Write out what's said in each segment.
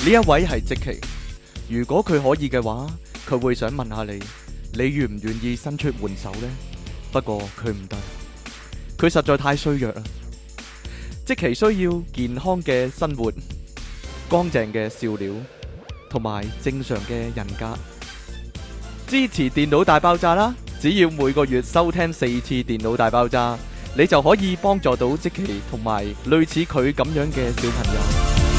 一位係積淇，如果佢可以嘅話，佢會想問下你，你願唔願意伸出援手呢？不過佢唔得，佢實在太衰弱啦。積淇需要健康嘅生活、乾淨嘅笑料同埋正常嘅人格。支持電腦大爆炸啦！只要每個月收聽4次電腦大爆炸，你就可以幫助到積淇同埋類似佢咁樣嘅小朋友。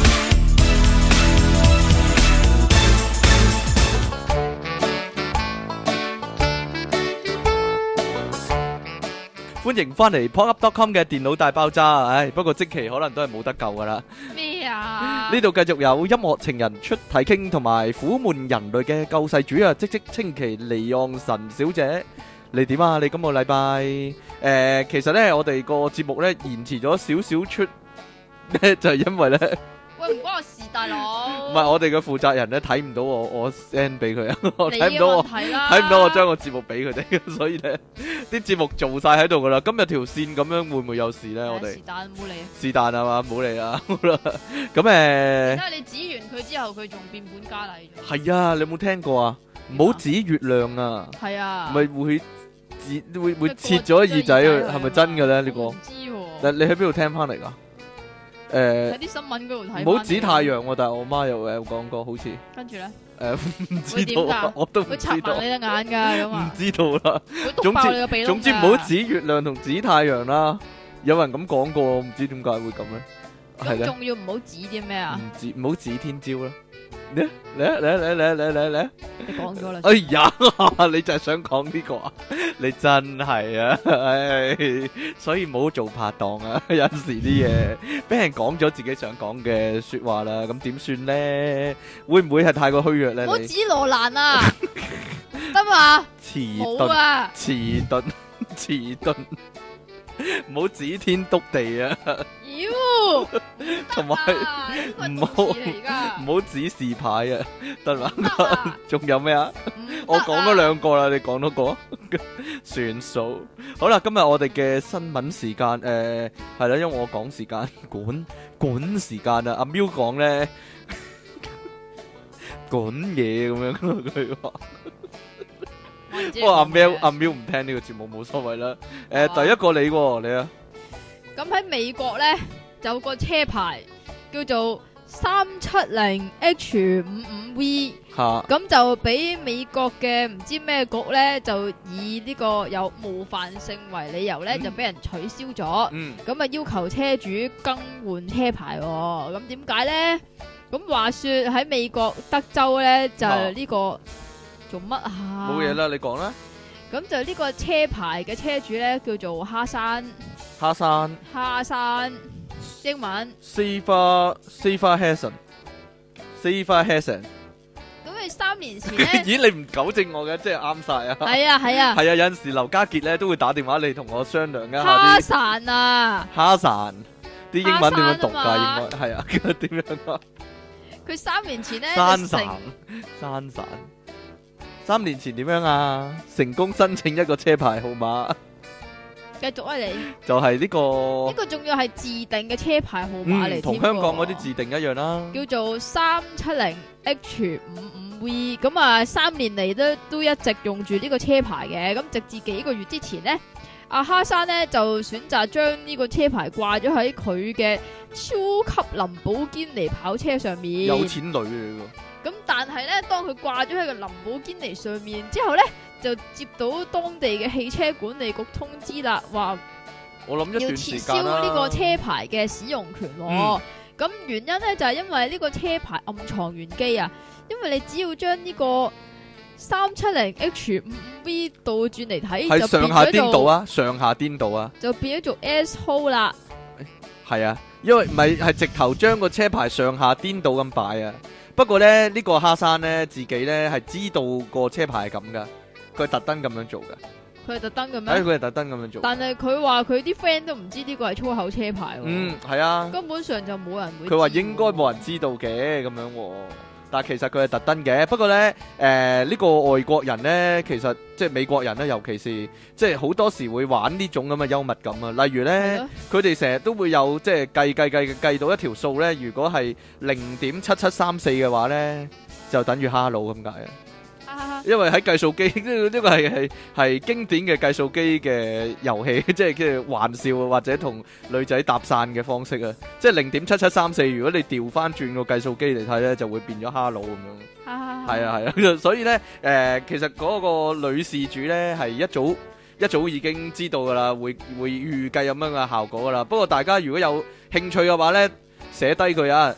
歡迎翻嚟 popup.com 嘅電腦大爆炸。不過積淇可能都係冇得救噶啦。 咩啊？ 呢度繼續有音樂情人出體 king 同埋苦悶人類嘅救世主啊！積淇離岸神小姐，你點啊？你今個禮拜其實呢，我哋個節目呢延遲咗少少出呢，就係因為呢。 喂，唔關我事，大佬。 唔係我哋嘅負責人咧睇唔到我 send 俾佢啊，我睇唔到我睇唔到我將個節目俾佢哋，所以咧啲節目做晒喺度噶啦。今日條線咁樣會唔會有事咧？我哋是但冇理。 是但啊嘛，冇理啦。好啦，咁但係你指完佢之後，佢仲變本加厲咗。 係啊，你有冇聽過啊？唔好指月亮啊， 係啊， 咪會切咗耳仔，係咪真嘅咧？呢個唔知喎。 但你喺邊度聽翻嚟噶？ 喺啲新聞嗰度睇。 唔好指太陽喎，但係我媽又有講過，好似。 跟住咧？ 唔知道，我都唔知道。 會插埋你隻眼㗎咁啊！ 唔知道啦。 會篤爆你個鼻窿㗎。 總之唔好指月亮同指太陽啦。有人咁講過，唔知點解會咁咧？係咧。 仲要唔好指啲咩啊？ 唔好指天朝啦。嚟！ 你講咗啦。 哎呀，你就係想講呢個啊？你真係啊，所以唔好做拍檔啊！有陣時啲嘢俾人講咗自己想講嘅說話啦，咁點算咧？會唔會係太過虛弱咧？ 唔好指羅蘭啊，得嘛？ 遲鈍，唔好指天篤地啊！ 妖， 同埋唔好指示牌啊，得啦。仲有咩啊？我講咗2個啦，你講多個算數。好啦，今日我哋嘅新聞時間係啦，因為我講時間管時間啊，阿喵講咧管嘢咁樣佢話。不過阿喵唔聽呢個節目冇所謂啦。第一個你啊。 咁喺美國咧，就有個車牌叫做370H55V，咁就俾美國嘅唔知咩局咧，就以呢個有冒犯性為理由咧，就俾人取消咗。咁啊要求車主更換車牌。咁點解咧？咁話說喺美國德州咧，就呢個做乜啊？ 冇嘢啦，你講啦。 咁就呢個車牌嘅車主咧，叫做哈山，英文 Safer Hassan。 咁佢3年前咧， 咦？你唔糾正我嘅，即係啱晒啊！ 係啊， 有陣時劉家傑咧都會打電話嚟同我商量一下哈山啊， 哈山啲英文點樣讀噶？應該係啊，點樣啊？ 佢3年前咧， 山3年前點樣啊？成功申請一個車牌號碼。 繼續啊，你就係呢個仲要係自定嘅車牌號碼嚟， 同香港嗰啲自定一樣啦。 叫做 370H55V。咁啊，3年嚟都一直用住呢個車牌嘅。咁直至幾個月之前呢，阿哈山呢就選擇將呢個車牌掛咗喺佢嘅超級林寶堅尼跑車上面。 有錢女嚟噶。 咁但係咧，當佢掛咗喺個林寶堅尼上面之後咧，就接到當地嘅汽車管理局通知啦，話我諗一段時間要撤銷呢個車牌嘅使用權。咁原因咧就係因為呢個車牌暗藏玄機啊，因為你只要將呢個 370H55V 倒轉嚟睇， 係上下顛倒啊，上下顛倒啊， 就變咗做 S-hole 啦。 係啊，因為唔係直頭將個車牌上下顛倒咁擺啊。不過咧，呢個哈山咧自己咧係知道個車牌係咁噶，佢係特登咁樣做噶。 佢係特登嘅咩？ 佢係特登咁樣做。 但係佢話佢啲 friend 都唔知呢個係粗口車牌。 係啊， 根本上就冇人會。 佢話應該冇人知道嘅咁樣。 但係其實佢係特登嘅。不過咧，呢個外國人咧，其實即係美國人咧，尤其是即係好多時會玩呢種咁嘅幽默感啊。例如咧，佢哋成日都會有即係計到一條數咧，如果係0.7734嘅話咧，就等於hello咁解啊。因為喺計數機呢個係經典嘅計數機嘅遊戲，即係玩笑或者同女仔搭訕嘅方式啊！即係0.7734，如果你調翻轉個計數機嚟睇咧，就會變咗 hello 咁樣。係啊，所以咧其實嗰個女事主咧係一早已經知道噶啦，會預計咁樣嘅效果噶啦。不過大家如果有興趣嘅話咧，寫低佢啊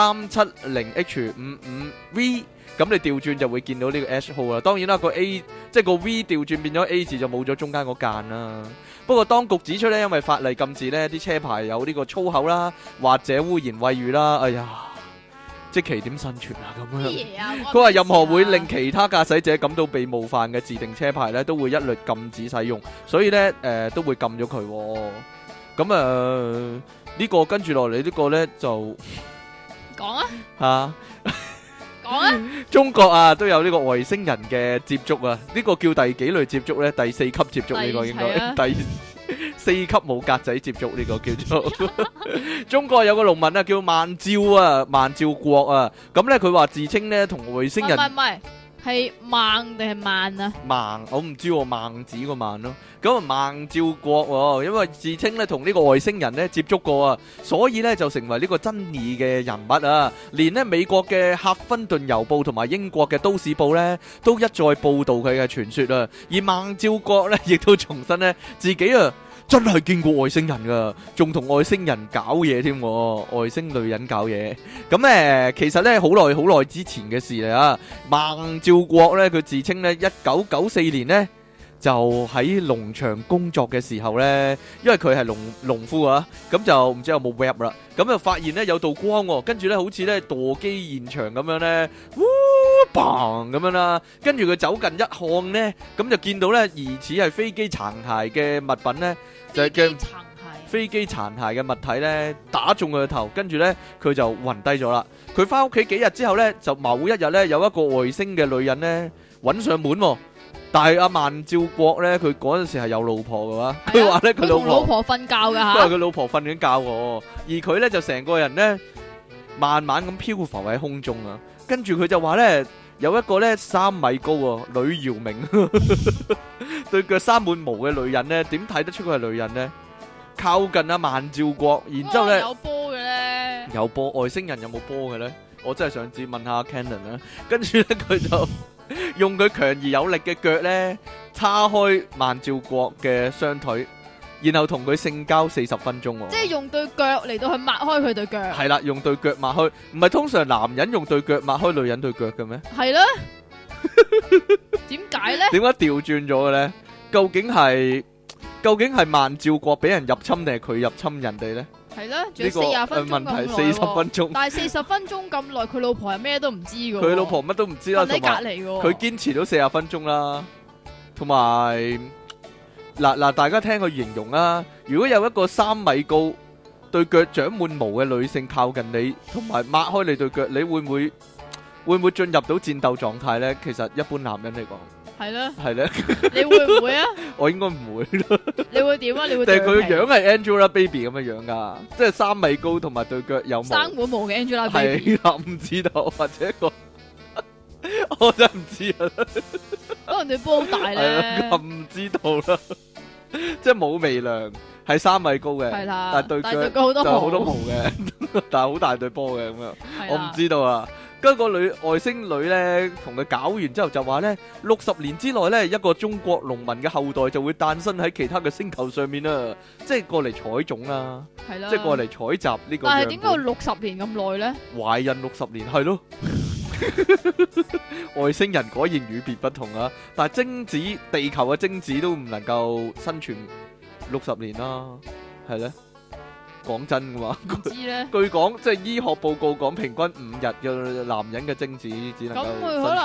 ，370H55V。咁你調轉就會見到呢個 H 號啦。當然啦，個 A 即係個 V 調轉變咗 A 字就冇咗中間嗰間啦。不過當局指出咧，因為法例禁止呢啲車牌有呢個粗口啦，或者污言穢語啦。哎呀，即其點生存啊咁樣。佢話任何會令其他駕駛者感到被冒犯嘅自定車牌咧，都會一律禁止使用。所以咧都會禁咗佢。咁呢個跟住落嚟呢個咧就講啊嚇。 中國啊都有呢個外星人嘅接觸啊，呢個叫第幾類接觸呢？第4級接觸呢個應該第4級冇格仔接觸呢個叫做中國有個農民啊叫萬照國啊，咁呢佢話自稱呢同外星人唔係係孟定係萬啊？ 孟我唔知喎，孟子個孟咯。咁啊孟照國因為自稱咧同呢個外星人咧接觸過啊，所以咧就成為呢個爭議嘅人物啊。連咧美國嘅赫芬頓郵報同埋英國嘅都市報咧都一再報導佢嘅傳說啊。而孟照國咧亦都重申咧自己啊真係見過外星人噶，仲同外星人搞嘢添，外星女人搞嘢。咁其實咧好耐之前嘅事嚟啊。孟照國咧佢自稱咧1994年咧就喺農場工作嘅時候咧，因為佢係農夫啊，咁就唔知有冇 web 啦，咁就發現咧有道光，跟住咧好似咧墮機現場咁樣咧，嘭咁樣啦，跟住佢走近一看咧，咁就見到咧疑似係飛機殘骸嘅物品咧，就係嘅飛機殘骸嘅物體咧打中佢個頭，跟住咧佢就暈低咗啦。佢翻屋企幾日之後咧，就某一日咧有一個外星嘅女人咧揾上門喎。但係阿孟照國咧，佢嗰陣時係有老婆嘅話，佢話咧佢老婆瞓覺㗎嚇， 因為佢老婆瞓緊覺喎，而佢咧就成個人咧慢慢咁漂浮喺空中啊。跟住佢就話咧有一個咧3米高喎，呂耀明對腳生滿毛嘅女人咧，點睇得出佢係女人咧？靠近阿孟照國，然之後咧有波嘅咧， 有波，外星人有冇波嘅咧？我真係想知，問下 Cannon 啦。跟住咧佢就用佢強而有力嘅腳咧，叉開孟照國嘅雙腿，然後同佢性交40分鐘喎。 即係用對腳嚟到去抹開佢對腳。 係啦，用對腳抹開，唔係通常男人用對腳抹開女人對腳嘅咩？ 係啦。點解咧？ 點解調轉咗嘅咧？究竟係孟照國俾人入侵定係佢入侵人哋咧？ 係啦，仲有40分鐘咁耐喎。 問題40分鐘， 但係40分鐘咁耐，佢老婆係咩都唔知㗎喎。 佢老婆乜都唔知啦， 瞓喺隔離喎。 佢堅持到40分鐘啦，同埋嗱，大家聽佢形容啦。如果有一個3米高、對腳長滿毛嘅女性靠近你，同埋抹開你對腳，你會唔會進入到戰鬥狀態咧？其實一般男人嚟講。係咧， 你會唔會啊？ 我應該唔會咯。 你會點啊？你會？ 但係佢個樣係 Angelababy 咁嘅樣噶，即係3米高同埋對腳有毛， 生滿毛嘅 Angelababy。 係啦，唔知道或者個，我真係唔知啊。 可能對波好大咧。 唔知道啦，即係冇微量，係3米高嘅， 係啦， 但係對腳就好多毛嘅，但係好大對波嘅咁樣，我唔知道啊。跟個外星女咧，同佢搞完之後就話咧，60年之內咧，一個中國農民嘅後代就會誕生喺其他嘅星球上面啦，即係過嚟採種啦， 係啦， 即係過嚟採集呢個。 但係點解要60年咁耐咧？ 懷孕60年係咯，外星人果然與別不同啊！但係精子，地球嘅精子都唔能夠生存60年啦，係咧。講真嘅話，據講即係醫學報告講，平均5日嘅男人嘅精子只能夠咁佢可能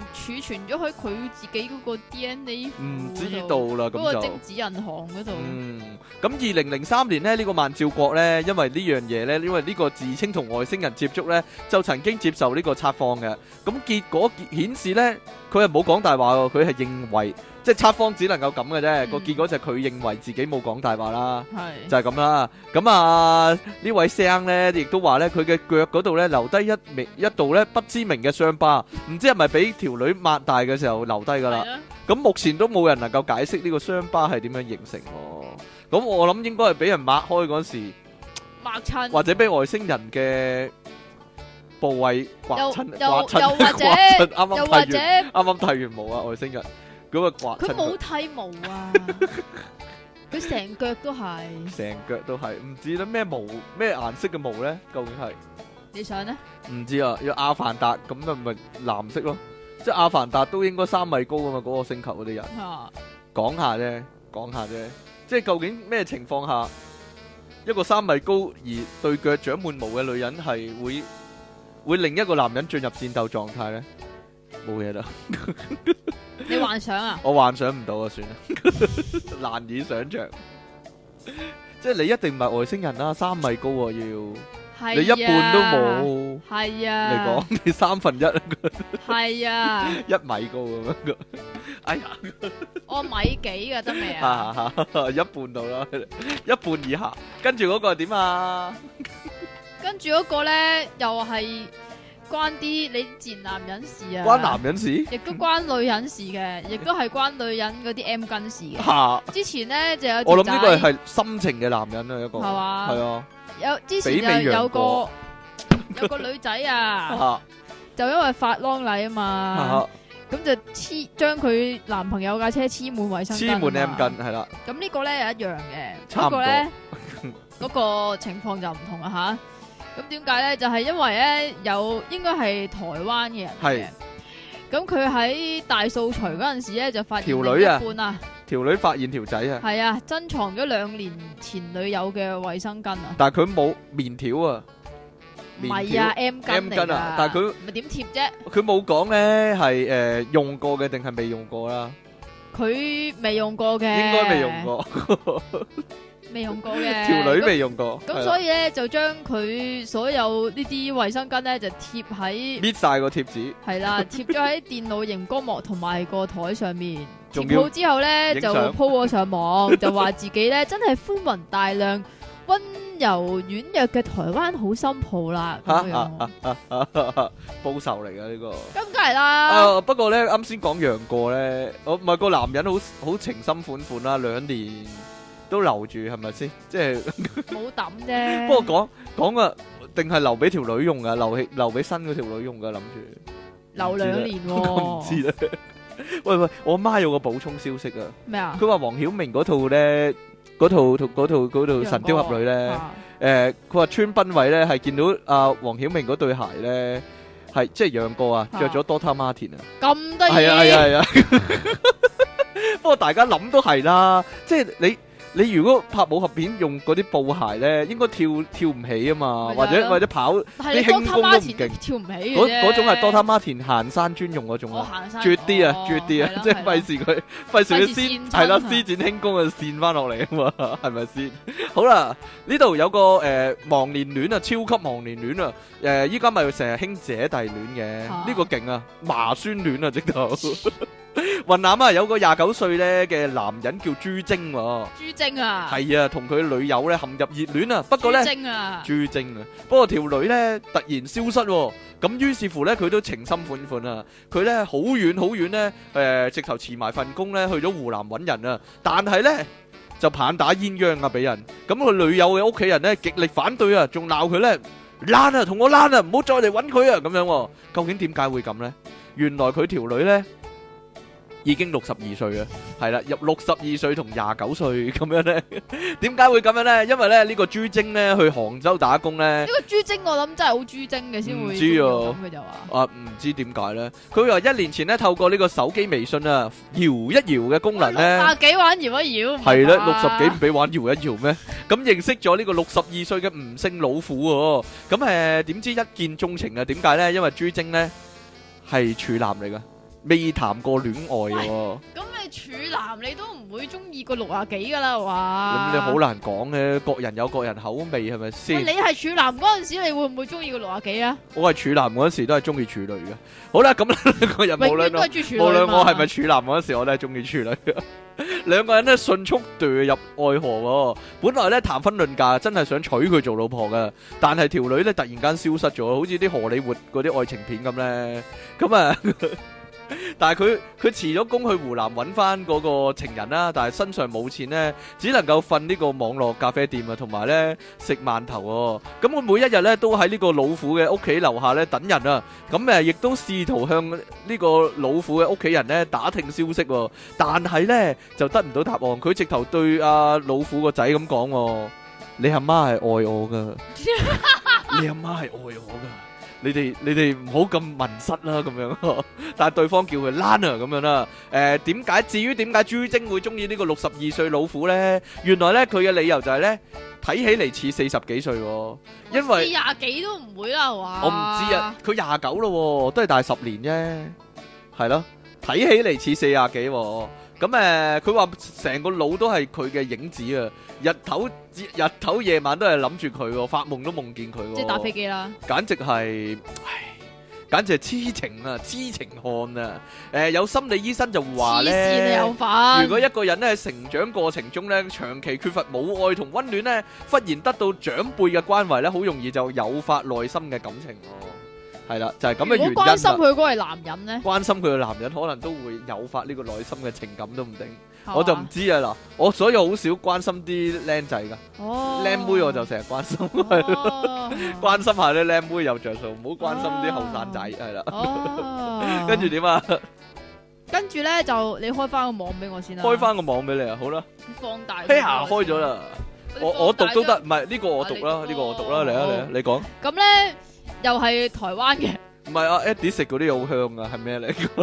儲存咗喺佢自己嗰個 DNA 唔知道啦，咁就嗰個精子銀行嗰度。 咁2003年呢，呢個萬兆國呢，因為呢樣嘢呢，因為呢個自稱同外星人接觸呢，就曾經接受呢個測謊嘅。咁結果顯示呢，佢係冇講大話喎，佢係認為即係測謊只能夠咁嘅啫。個結果就係佢認為自己冇講大話啦，就係咁啦。咁啊呢位聲呢，亦都話呢，佢嘅腳嗰度呢，留低一道呢不知名嘅傷疤，唔知係咪俾條女擘大嘅時候留低㗎啦。咁目前都冇人能夠解釋呢個傷疤係點樣形成喎。咁我諗應該係俾人擘開嗰時擘親， 或者俾外星人嘅部位刮親， 又或者啱啱剃完毛啊，外星人咁啊刮親。 佢冇剃毛啊，佢成腳都係， 成腳都係，唔知咧咩毛咩顏色嘅毛咧？究竟係你想咧？唔知啊，要阿凡達咁就咪藍色咯，即係阿凡達都應該3米高噶嘛，嗰個星球嗰啲人。講下啫。即係究竟咩情況下一個3米高而對腳長滿毛嘅女人係會令一個男人進入戰鬥狀態咧？冇嘢啦。 你幻想啊？ 我幻想唔到啊，算啦，難以想象。即係你一定唔係外星人啦，3米高啊要，你一半都冇。 係啊， 你講你1/3。 係啊 ，1米高咁樣。哎呀， 我米幾噶得未啊？ 一半到啦，一半以下。跟住嗰個係點啊？ 跟住嗰個咧又係關啲你賤男人事啊？ 關男人事？亦都關女人事嘅，亦都係關女人嗰啲 M 巾事嘅。之前咧就有我諗呢個係深情嘅男人啊，一個係嘛？ 係啊。 有之前就有個女仔啊，就因為發狼禮啊嘛。咁就將佢男朋友架車黐滿衛生巾， 黐滿 M 巾係啦。 咁呢個咧又一樣嘅，不過咧嗰個情況就唔同啊吓。咁點解咧？就係因為咧應該係台灣嘅人嘅。咁佢喺大掃除嗰陣時咧就發現條女啊， 條女發現條仔啊， 係啊，珍藏咗2年前女友嘅衛生巾啊。 但係佢冇棉條啊。 唔係啊 ，M 巾啊， 但係佢咪點貼啫？ 佢冇講咧係用過嘅定係未用過啦。 佢未用過嘅， 應該未用過， 未用過嘅。 條女未用過， 咁所以咧就將佢所有呢啲衛生巾咧就貼喺搣晒個貼紙， 係啦，貼咗喺電腦熒光幕同埋個台上面。貼好之後咧就 po 咗上網，就話自己咧真係寬宏大量、溫柔軟弱嘅台灣好心抱啦，咁樣報仇嚟噶呢個， 咁梗係啦。 不過咧啱先講楊過咧，我唔係個男人好情深款款啦，2年都留住係咪先？即係冇抌啫。 不過講啊，定係留俾條女用噶，留俾新嗰條女用噶，諗住留2年。 唔知咧。喂，我媽有個補充消息啊。 咩啊？ 佢話黃曉明嗰套咧。嗰套神雕俠侶咧，佢話川濱位咧係見到阿黃曉明嗰對鞋咧，係即係楊過啊，着咗 Dr. Martin 啊， 咁得意， 係啊。不過大家諗都係啦，即係你如果拍武俠片用嗰啲布鞋咧，應該跳唔起啊嘛，或者跑啲輕功都唔勁， 跳唔起嘅嗰種係 Dr. Martin 行山專用嗰種啊，絕啲啊，即係費事佢先係啦，施展輕功啊，跣翻落嚟啊嘛，係咪先？好啦，呢度有個忘年戀啊，超級忘年戀啊，依家咪成日興姐弟戀嘅，呢個勁啊，麻酸戀啊，直頭。雲南啊，有個29歲咧嘅男人叫朱晶喎， 朱晶啊， 係啊，同佢女友咧陷入熱戀啊，不過咧朱晶啊，不過條女咧突然消失，咁於是乎咧佢都情深款款啊，佢咧好遠咧，直頭辭埋份工咧去咗湖南揾人啊，但係咧就棒打鴛鴦啊俾人，咁佢女友嘅屋企人咧極力反對啊，仲鬧佢咧躝啊，同我躝啊，唔好再嚟揾佢啊咁樣，究竟點解會咁咧？原來佢條女咧已經62歲啊，係啦，入62歲同29歲咁樣咧，點解會咁樣咧？因為咧呢個朱晶咧去杭州打工咧，呢個朱晶我諗真係好朱晶嘅先會咁嘅就話， 唔知點解咧？佢話1年前咧透過呢個手機微信啊，搖一搖嘅功能咧 ，60幾玩搖一搖， 係咧60幾唔俾玩搖一搖咩？咁認識咗呢個62歲嘅吳姓老婦喎，咁點知一見鍾情啊？點解咧？因為朱晶咧係處男嚟噶。 未談過戀愛喎。 咁你處男你都唔會中意個60幾噶啦，話？ 咁你好難講嘅，各人有各人口味，係咪先？ 你係處男嗰陣時，你會唔會中意個60幾啊？ 我係處男嗰陣時都係中意處女嘅。好啦，咁兩個人無論我係咪處男嗰陣時，我都係中意處女嘅。兩個人咧迅速墮入愛河喎。本來咧談婚論嫁，真係想娶佢做老婆嘅，但係條女咧突然間消失咗，好似啲荷里活嗰啲愛情片咁咧。咁啊，但係佢辭咗工去湖南揾翻嗰個情人啦，但係身上冇錢咧，只能夠瞓呢個網絡咖啡店啊，同埋咧食饅頭喎。咁我每一日咧都喺呢個老虎嘅屋企樓下咧等人啊。咁亦都試圖向呢個老虎嘅屋企人咧打聽消息喎，但係咧就得唔到答案。佢直頭對阿老虎個仔咁講：你阿媽係愛我噶，你阿媽係愛我噶。你哋唔好咁迷失啦，咁樣。但係對方叫佢爛啊，咁樣啦。至於點解朱晶會中意呢個62歲老虎咧？原來咧佢嘅理由就係咧睇起嚟似40幾歲，因為 40幾都唔會啦，係嘛？ 我唔知啊，佢29咯，都係大10年啫，係咯。睇起嚟似40幾，咁佢話成個腦都係佢嘅影子啊！日頭夜晚都係諗住佢，發夢都夢見佢。 即係打飛機啦！ 簡直係痴情啊，痴情漢啊！有心理醫生就話咧，如果一個人咧喺成長過程中咧，長期缺乏母愛同溫暖咧，忽然得到長輩嘅關懷咧，好容易就誘發內心嘅感情。係啦，就係咁嘅原因。 如果關心佢嗰個係男人咧， 關心佢嘅男人可能都會誘發呢個內心嘅情感都唔定，我就唔知啊嗱。我所以好少關心啲僆仔噶，僆妹我就成日關心，關心下啲僆妹有着數，唔好關心啲後生仔係啦。跟住點啊？ 跟住咧就你開翻個網俾我先啦。開翻個網俾你啊，好啦。 放大。 嘿呀，開咗啦。我讀都得，唔係呢個我讀啦，呢個我讀啦，嚟啊，你講。咁咧。又係台灣嘅， 唔係啊 Eddie 食嗰啲好香啊，係咩嚟㗎？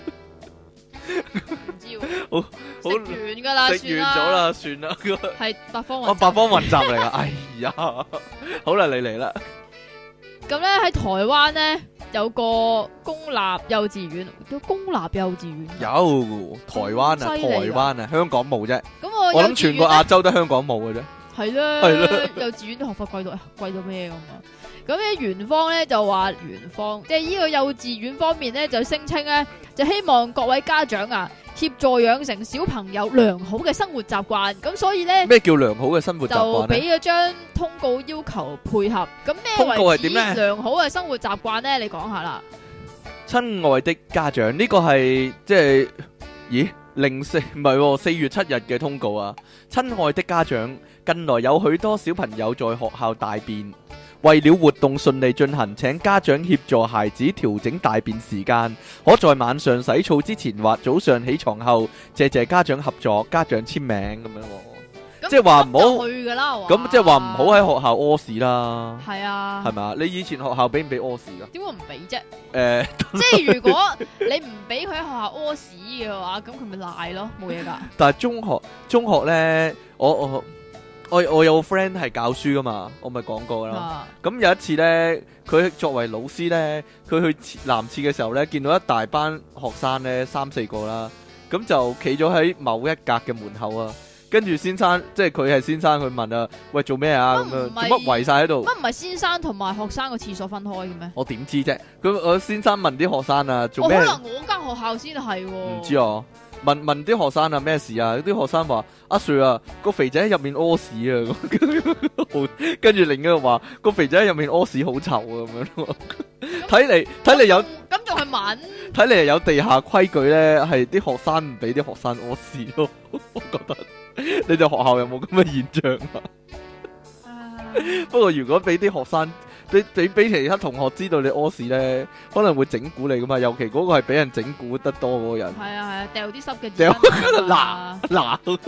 唔知喎， 好食完噶啦， 食完咗啦，算啦。 係八方雲集， 八方雲集嚟噶，哎呀，好啦，你嚟啦。 咁咧喺台灣咧有個公立幼稚園，叫公立幼稚園。有台灣啊，香港冇啫。咁我諗全個亞洲都香港冇嘅啫。 係啦，幼稚園啲學費貴到咩咁啊？咁咧園方咧就話即係呢個幼稚園方面咧就聲稱咧就希望各位家長啊協助養成小朋友良好嘅生活習慣，咁所以咧咩叫良好嘅生活習慣就俾咗張通告要求配合。咁咩為止良好嘅生活習慣咧？你講下啦。 親愛的家長，呢個係即係咦04唔係4月7日嘅通告啊！親愛的家長，近來有許多小朋友在學校大便。為了活動順利進行，請家長協助孩子調整大便時間，可在晚上洗澡之前或早上起床後，謝家長合作，家長簽名咁樣。即係話唔好去噶啦，咁即係話唔好喺學校屙屎啦。係啊，係咪啊？你以前學校俾唔俾屙屎噶？點會唔俾啫？即係如果你唔俾佢喺學校屙屎嘅話，咁佢咪賴咯，冇嘢噶。但係中學咧，我有個 friend 係教書噶嘛，我咪講過啦。咁有一次咧，佢作為老師咧，佢去男廁嘅時候咧，見到一大班學生咧，3-4個啦，咁就企咗喺某一格嘅門口啊。跟住先生，即係佢係先生，佢問啊，喂，做咩啊？咁樣做乜圍晒喺度？乜唔係先生同埋學生個廁所分開嘅咩？我點知啫？我先生問啲學生啊，做咩？可能我間學校先係。唔知啊。問啲學生啊咩事啊？啲學生話阿 Sir 啊，個肥仔喺入面屙屎啊，跟住另一個話個肥仔喺入面屙屎好臭啊，咁樣咯。睇嚟有咁仲係問？睇嚟有地下規矩咧，係啲學生唔俾啲學生屙屎咯。我覺得你哋學校有冇咁嘅現象啊？不過如果俾啲學生俾其他同學知道你屙屎咧，可能會整蠱你噶嘛，尤其嗰個係俾人整蠱得多嗰個人。係啊，掉啲濕嘅紙嗱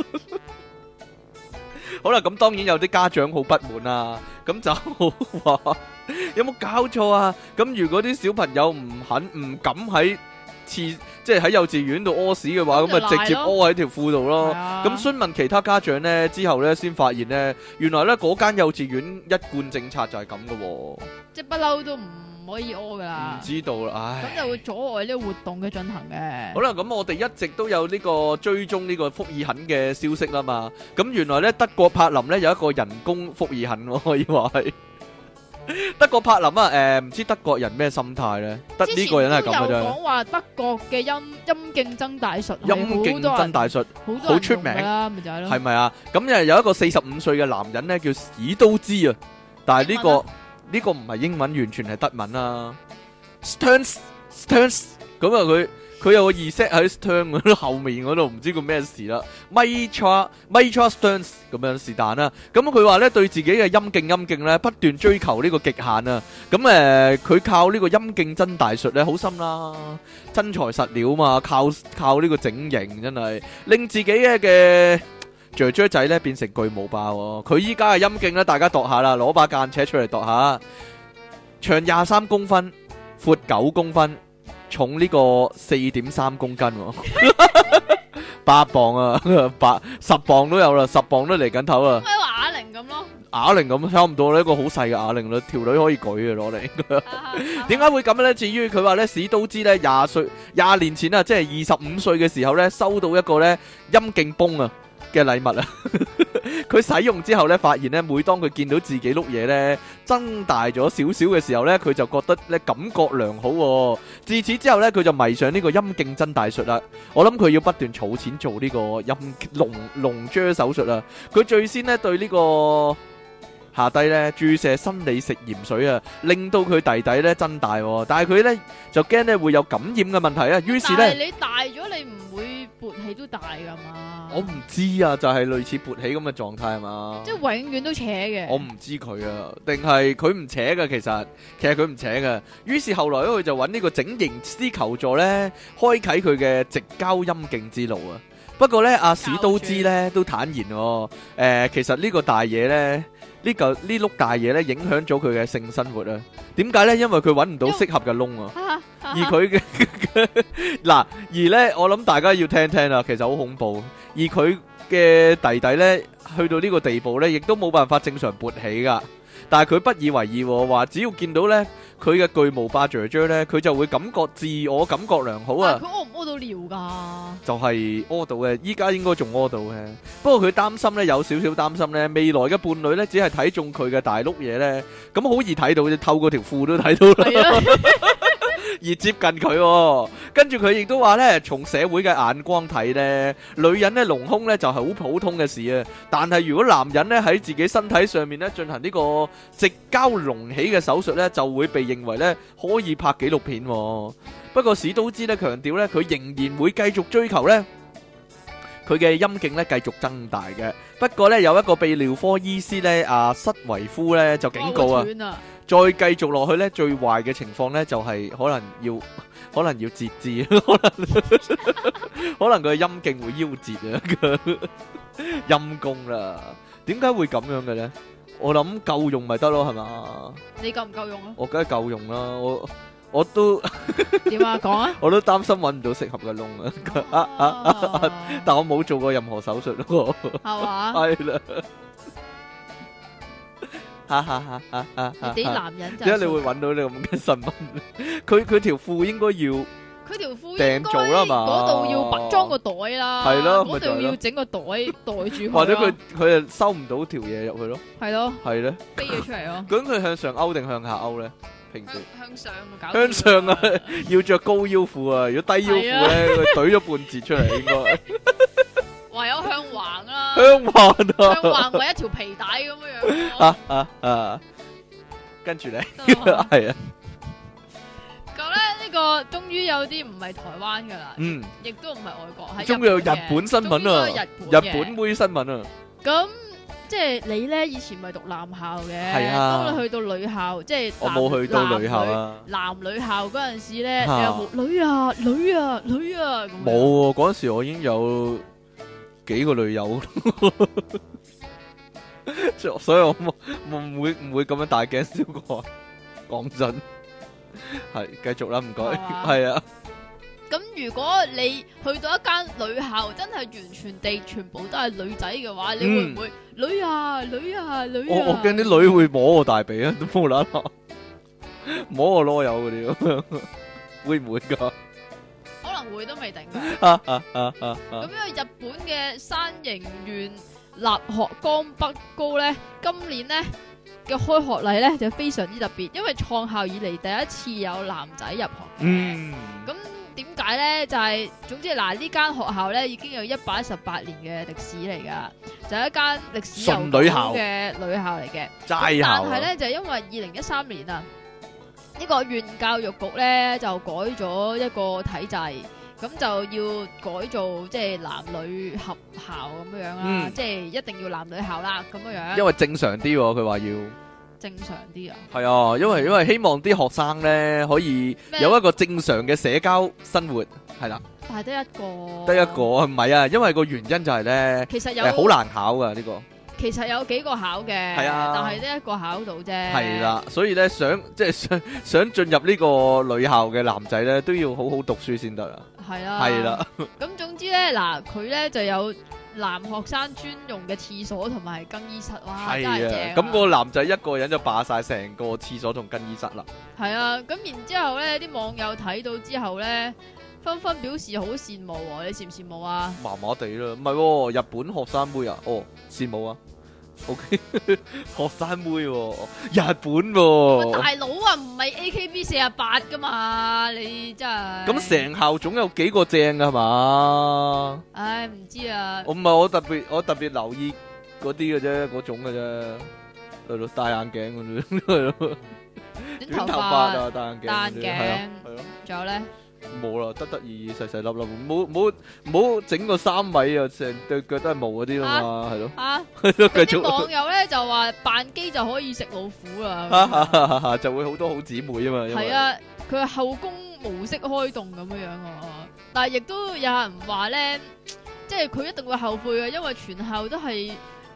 好啦，咁當然有啲家長好不滿啊，咁就話有冇搞錯啊？咁如果啲小朋友唔敢喺即係喺幼稚園度屙屎嘅話，咁咪直接屙喺條褲度咯。咁詢問其他家長咧之後咧，先發現咧，原來咧嗰間幼稚園一貫政策就係咁嘅喎。即係不嬲都唔唔可以屙噶啦。 唔知道啦，唉。 咁就會阻礙呢個活動嘅進行嘅。 好啦，咁我哋一直都有呢個追蹤呢個福爾肯嘅消息啦嘛。咁原來咧德國柏林咧有一個人工福爾肯喎，可以話係。德國柏林啊，唔知德國人咩心態咧？得呢個人係咁嘅啫。 之前都有講話德國嘅陰競爭大術， 陰競爭大術好出名啦，咪就係咯。 係咪啊？咁有一個45歲嘅男人咧叫史都茲啊，但係呢個唔係英文，完全係德文啊。Stearns 咁啊佢有個 Z 喺 Stern 嗰度後面嗰度，唔知佢咩事啦。Mitra Stearns 咁樣是但啦。咁佢話咧對自己嘅陰競咧不斷追求呢個極限啊。咁佢靠呢個陰競爭大術咧好深啦，真材實料嘛，靠呢個整形真係令自己嘅雀雀仔咧變成巨無霸喎。佢依家嘅陰競咧，大家度下啦，攞把間尺出嚟度下，長23公分，闊9公分。重呢個4.3公斤喎，8磅啊，10磅都有啦，10磅都嚟緊頭啦。 咪話啞鈴咁咯， 啞鈴咁差唔多呢，一個好細嘅啞鈴啦，條女可以舉嘅攞嚟。點解會咁咧？至於佢話咧，史都知咧20年前啊，即係25歲嘅時候咧，收到一個咧陰莖泵啊嘅禮物啊。佢使用之後咧，發現咧，每當佢見到自己碌嘢咧增大咗少少嘅時候咧，佢就覺得咧感覺良好喎。自此之後咧，佢就迷上呢個陰競爭大術啦。我諗佢要不斷儲錢做呢個龍珠手術啦。佢最先咧對呢個下低咧注射生理食鹽水啊，令到佢弟弟咧增大，但係佢咧就驚咧會有感染嘅問題啊。於是咧， 但係你大咗，你唔會勃起都大噶嘛？ 我唔知啊，就係類似勃起咁嘅狀態係嘛？ 即係永遠都扯嘅。 我唔知佢啊，定係佢唔扯嘅？其實佢唔扯嘅。於是後來咧，佢就揾呢個整形師求助咧，開啟佢嘅直交陰莖之路啊。不過咧，阿史都知咧都坦言，其實呢個大嘢咧。呢碌大嘢咧，影響咗佢嘅性生活啊？點解咧？因為佢揾唔到適合嘅窿啊！而佢嘅嗱，而咧，我諗大家要聽聽啦，其實好恐怖。而佢嘅弟弟咧，去到呢個地步咧，亦都冇辦法正常勃起噶。但係佢不以為意，話只要見到咧佢嘅巨無霸雀雀咧，佢就會自我感覺良好啊！ 佢屙唔屙到尿噶？ 就係屙到嘅，依家應該仲屙到嘅。不過佢擔心咧，有少少擔心咧，未來嘅伴侶咧，只係睇中佢嘅大碌嘢咧，咁好易睇到，透過條褲都睇到啦。而接近佢，跟住佢亦都話咧，從社會嘅眼光睇咧，女人咧隆胸咧就係好普通嘅事啊。但係如果男人咧喺自己身體上面咧進行呢個直交隆起嘅手術咧，就會被認為咧可以拍紀錄片。不過史都知咧強調咧，佢仍然會繼續追求咧佢嘅陰莖咧繼續增大嘅。不過咧有一個泌尿科醫師咧阿瑟維夫咧就警告啊。再繼續落去咧，最壞嘅情況咧就係可能要截肢，可能佢嘅陰莖會夭折啊！陰公啦，點解會咁樣嘅咧？我諗夠用咪得咯，係嘛？你夠唔夠用啊？我梗係夠用啦，我都點啊？講啊！我都擔心揾唔到適合嘅窿啊！但我冇做過任何手術咯，係嘛？係啦。你啲男人就點解你會揾到呢咁嘅新聞？佢條褲應該要佢條褲訂做啦嘛，嗰度要裝個袋啦，係咯，嗰度要整個袋袋住佢，或者佢又收唔到條嘢入去咯，係咯，係咧飛咗出嚟咯。咁佢向上勾定向下勾咧？平時向上搞向上啊，要着高腰褲啊，如果低腰褲咧，佢懟咗半截出嚟應該。唯有向橫啦，向橫啊，向橫為一條皮帶咁樣。跟住咧，係啊。咁咧呢個終於有啲唔係台灣噶啦，亦都唔係外國，係終於有日本新聞啊，日本妹新聞啊。咁即係你咧以前咪讀男校嘅，係啊。當你去到女校，即係我冇去到女校啊。男女校嗰陣時咧，你有冇女啊女啊女啊咁？冇喎，嗰陣時我已經有幾個女友，所以我唔會咁樣大驚小怪。講真，係繼續啦，唔該，係啊。咁如果你去到一間女校，真係完全地全部都係女仔嘅話，你會唔會女啊女啊女啊？我驚啲女會摸我大髀啊，都冇啦啦。 摸個囉柚嗰啲咁樣，會唔會㗎？ 可能會都未定㗎。咁因為日本嘅山形縣立學江北高咧，今年咧嘅開學禮咧就非常之特別，因為創校以嚟第一次有男仔入學嘅。咁點解咧？就係總之嗱，呢間學校咧已經有118年嘅歷史嚟噶，就係一間歷史悠久嘅女校嚟嘅。 齋校。 但係咧就係因為2013年啊，呢個縣教育局咧就改咗一個體制，咁就要改做即係男女合校咁樣啦，即係一定要男女校啦咁樣。 因為正常啲，佢話要。 正常啲啊， 係啊，因為希望啲學生咧可以有一個正常嘅社交生活，係啦。 但係得一個唔係啊，因為個原因就係咧， 其實有好難考噶呢個。 其實有幾個考嘅，係啊，但係得一個考到啫。係啦， 所以咧想進入呢個女校嘅男仔咧，都要好好讀書先得啦。係啊，係啦。 咁總之咧，嗱佢咧就有男學生專用嘅廁所同埋更衣室，哇，真係正啊！ 咁個男仔一個人就霸晒成個廁所同更衣室啦。係啊，咁然之後咧，啲網友睇到之後咧，紛紛表示好羨慕喎，你羨唔羨慕啊？ 麻麻地啦，唔係，日本學生妹啊，羨慕啊。OK， 學生妹喎，日本喎。 大佬啊，唔係 AKB48噶嘛，你真係。咁成校總有幾個正噶係嘛？ 唉，唔知啊。 我唔係我特別留意嗰啲嘅啫，嗰種嘅啫，係咯，戴眼鏡嗰啲，係咯，短頭髮啊，戴眼鏡，係咯， 仲有咧。 冇啦，得意細細粒粒，冇整個3米啊，成對腳都係毛嗰啲啊嘛，係咯。繼續。 網友咧就話扮機就可以食老虎啦， 就會好多好姊妹啊嘛。 係啊，佢係後宮模式開動咁樣樣啊，但係亦都有人話咧，即係佢一定會後悔嘅，因為全校都係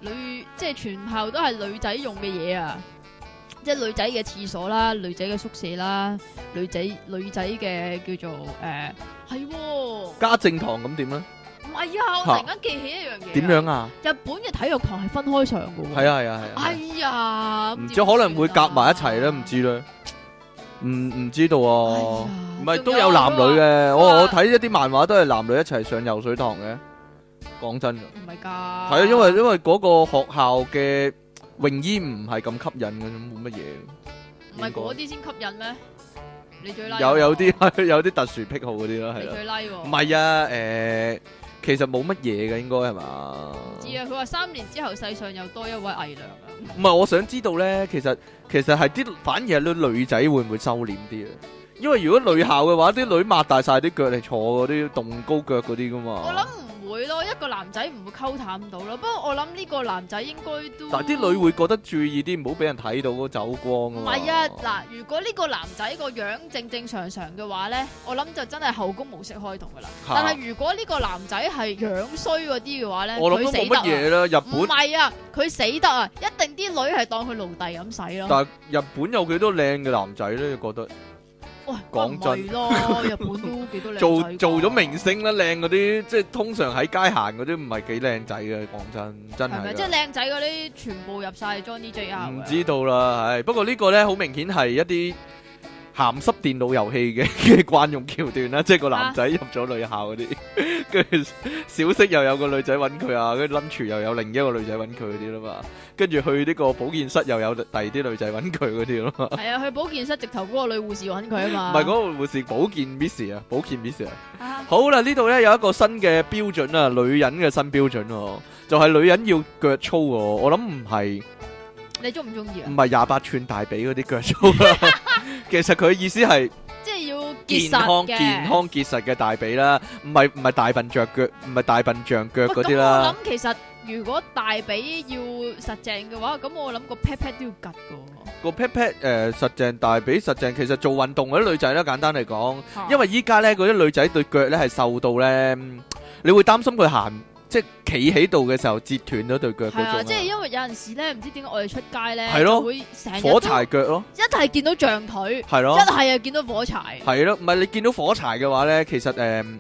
女仔用嘅嘢啊。即係女仔嘅廁所啦，女仔嘅宿舍啦，女仔嘅叫做係家政堂咁點咧？ 唔係啊，我突然間記起一樣嘢。 點樣啊？ 日本嘅體育堂係分開上嘅。 係啊。 哎呀， 唔知可能會夾埋一齊咧，唔知咧。唔知道啊。唔係都有男女嘅，我睇一啲漫畫都係男女一齊上游水堂嘅。講真㗎。唔係㗎。係啊，因為嗰個學校嘅泳衣唔係咁吸引嘅，冇乜嘢。 唔係嗰啲先吸引咩？你最 like 有啲特殊癖好嗰啲啦，係啦。 你最 like 喎？ 唔係啊，其實冇乜嘢嘅，應該係嘛？ 唔知啊，佢話3年之後世上又多一位偽娘啊。 唔係，我想知道咧，其實係反而係啲女仔會唔會收斂啲啊？因為如果女校嘅話，啲女擘大晒啲腳嚟坐嗰啲動高腳嗰啲噶嘛。 我諗唔會咯，一個男仔唔會溝淡到咯。不過我諗呢個男仔應該都， 但係啲女會覺得注意啲，唔好俾人睇到嗰走光啊嘛。 唔係啊，嗱，如果呢個男仔個樣正常嘅話咧，我諗就真係後宮模式開動噶啦。但係如果呢個男仔係樣衰嗰啲嘅話咧， 我諗都冇乜嘢啦。日本唔係啊，佢死得啊，一定啲女係當佢奴隸咁使咯。 但係日本有幾多靚嘅男仔咧？你覺得？ 喂，講真咯，日本都幾多靚仔做咗明星啦，靚嗰啲即係通常喺街行嗰啲唔係幾靚仔嘅，講真係。係咪即係靚仔嗰啲全部入晒 Johnny JR？ 唔知道啦，係不過呢個咧好明顯係一啲鹹濕電腦遊戲嘅慣用橋段啦，即係個男仔入咗女校嗰啲，跟住小息又有個女仔揾佢啊，跟住 lunch 又有另一個女仔揾佢嗰啲啦嘛，跟住去呢個保健室又有第二啲女仔揾佢嗰啲咯。係啊，去保健室直頭嗰個女護士揾佢啊嘛。 唔係嗰個護士，保健 Miss 啊，保健 Miss 啊。好啦，呢度咧有一個新嘅標準啊，女人嘅新標準喎，就係女人要腳粗喎。我諗唔係。 你中唔中意啊？ 唔係28寸大髀嗰啲腳粗啦，其實佢意思係即係要健康結實嘅大髀啦，唔係大笨象腳，唔係大笨象腳嗰啲啦。 我諗其實如果大髀要實淨嘅話，咁我諗個 pat pat 都要趌噶。 個 pat pat 實淨大髀實淨，其實做運動嗰啲女仔咧，簡單嚟講，因為依家咧嗰啲女仔對腳咧係瘦到咧，你會擔心佢行。即係企喺度嘅時候折斷咗對腳嗰種。係啊， 即係因為有陣時咧，唔知點解我哋出街咧， 係咯， 會成日火柴腳咯。 一係見到象腿， 係咯， 一係又見到火柴。 係咯，唔係你見到火柴嘅話咧，其實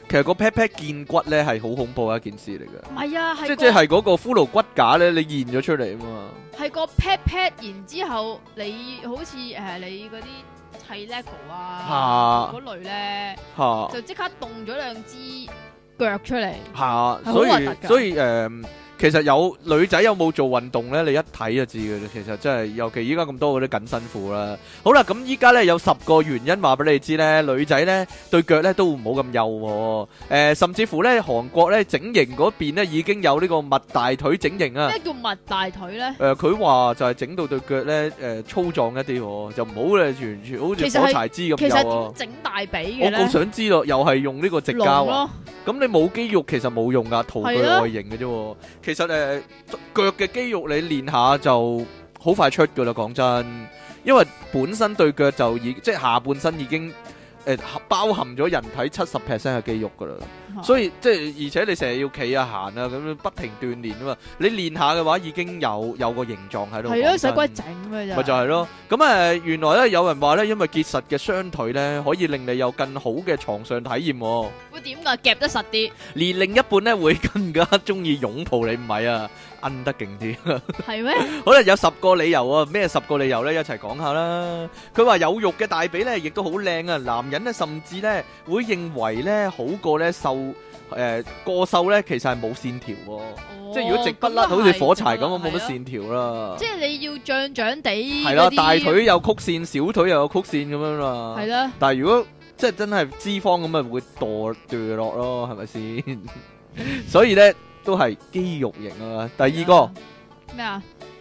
其實個 pat pat 見骨咧係好恐怖嘅一件事嚟嘅。 唔係啊， 即係嗰個骷髏骨架咧，你現咗出嚟啊嘛。 係個 pat pat，然之後你好似你嗰啲砌 lego 啊嗰類咧，就即刻動咗兩支腳出嚟。 所以其實有女仔有冇做運動咧？你一睇就知嘅。其實真係，尤其依家咁多嗰啲緊身褲啦。好啦，咁依家咧有10個原因話俾你知咧，女仔咧對腳咧都唔好咁幼。甚至乎咧韓國咧整形嗰邊咧已經有呢個襪大腿整形啊。 咩叫襪大腿咧？ 佢話就係整到對腳咧粗壯一啲，就唔好咧完全好似火柴枝咁幼。 其實點整大髀嘅咧？ 我好想知咯，又係用呢個直膠啊？咁你冇肌肉其實冇用噶，圖具外形嘅啫。其實腳嘅肌肉你練下就好快出噶啦，講真，因為本身對腳就即係下半身已經包含咗人體70% 嘅肌肉噶啦，所以即係而且你成日要企啊行啊咁樣不停鍛煉啊嘛，你練下嘅話已經有個形狀喺度。係咯， 使鬼整嘅咋？ 咪就係咯，咁原來咧有人話咧，因為結實嘅雙腿咧可以令你有更好嘅床上體驗。 會點噶？夾得實啲， 連另一半咧會更加中意擁抱你，唔係啊，摁得勁啲。 係咩？ 好啦，有10個理由啊，咩10個理由咧？一齊講下啦。佢話有肉嘅大髀咧，亦都好靚啊。男人咧甚至咧會認為咧好過咧瘦，過瘦咧其實係冇線條。即係如果直不甩，好似火柴咁，冇乜線條啦。 即係你要脹脹地。 係啦，大腿有曲線，小腿又有曲線咁樣啦。 係啦。 但係如果即係真係脂肪咁，咪會墮落咯，係咪先？所以咧都係肌肉型啊。第二個咩啊？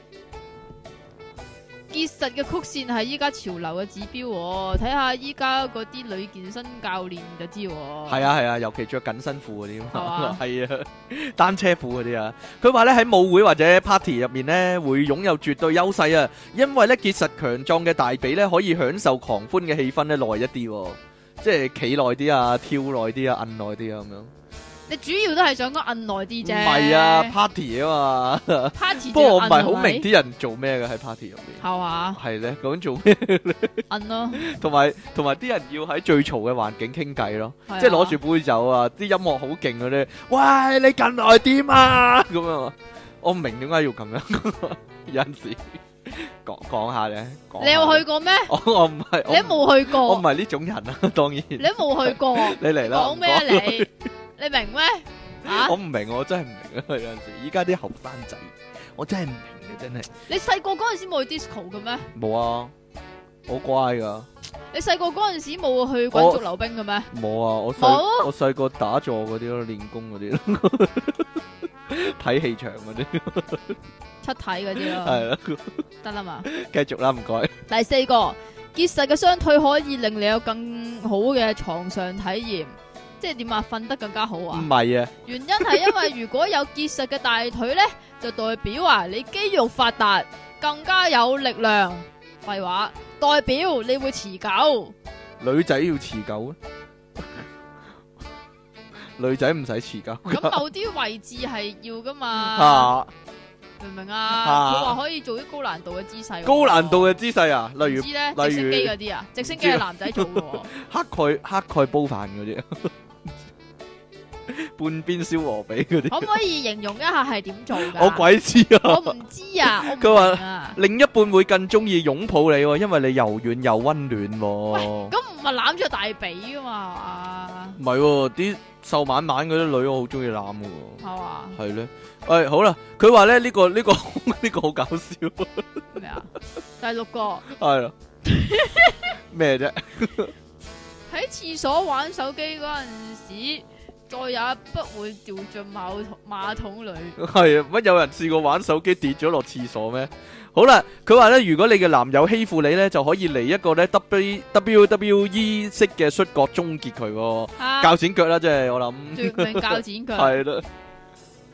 結實嘅曲線係依家潮流嘅指標，睇下依家嗰啲女健身教練就知。 係啊，尤其着緊身褲嗰啲，係啊，單車褲嗰啲啊。佢話咧喺舞會或者 party 入面咧會擁有絕對優勢啊，因為咧結實強壯嘅大髀咧可以享受狂歡嘅氣氛咧耐一啲，即係企耐啲啊，跳耐啲啊，摁耐啲啊咁樣。 你主要都係想講摁耐啲啫， 唔係啊 party 啊嘛，party。不過我唔係好明啲人做咩嘅喺 party 入面， 係嘛？ 係咧，究竟做咩咧？ 摁咯， 同埋啲人要喺最嘈嘅環境傾偈咯，即係攞住杯酒啊，啲音樂好勁嗰啲，喂，你近來點啊？咁樣，我唔明點解要咁樣，有陣時講下咧。 你有去過咩？ 我唔係， 你都冇去過， 我唔係呢種人啊，當然。 你都冇去過， 你嚟啦， 講咩啊你？你明咩？ 我唔明，我真係唔明啊！有陣時，依家啲後生仔，我真係唔明嘅，真係。 你細個嗰陣時冇去 disco 嘅咩？ 冇啊，好乖噶。 你細個嗰陣時冇去滾軸溜冰嘅咩？ 冇啊，我細個打坐嗰啲咯，練功嗰啲咯，睇戲場嗰啲， 出體嗰啲咯。 係啦， 得啦嘛。 繼續啦，唔該。 第4個，結實嘅雙腿可以令你有更好嘅床上體驗。即係點啊？瞓得更加好啊？ 唔係啊， 原因係因為如果有結實嘅大腿咧，就代表你肌肉發達，更加有力量。廢話，代表你會持久。 女仔要持久啊？女仔唔使持久。 咁某啲位置係要噶嘛？明唔明啊？佢話可以做啲高難度嘅姿勢。高難度嘅姿勢啊？例如直升機嗰啲啊？直升機係男仔做嘅。乞丐煲飯嗰啲。半邊燒鵝髀嗰啲， 可唔可以形容一下係點做噶？ 我鬼知啊！ 我唔知啊！ 佢話另一半會更中意擁抱你，因為你柔軟又溫暖。 喂，咁唔係攬住大髀噶嘛？ 唔係，啲瘦蜢蜢嗰啲女我好中意攬噶。 係嘛？ 係咧，誒，好啦，佢話咧呢個好搞笑。 咩啊？第6個係啦，咩啫？ 喺廁所玩手機嗰陣時。再也不會掉進馬桶裏。 係啊，乜有人試過玩手機跌咗落廁所咩？好啦，佢話咧，如果你嘅男友欺負你咧，就可以嚟一個咧 WWE 式嘅摔角終結佢，鉸剪腳啦，即係我諗。 絕命鉸剪腳。 係啦。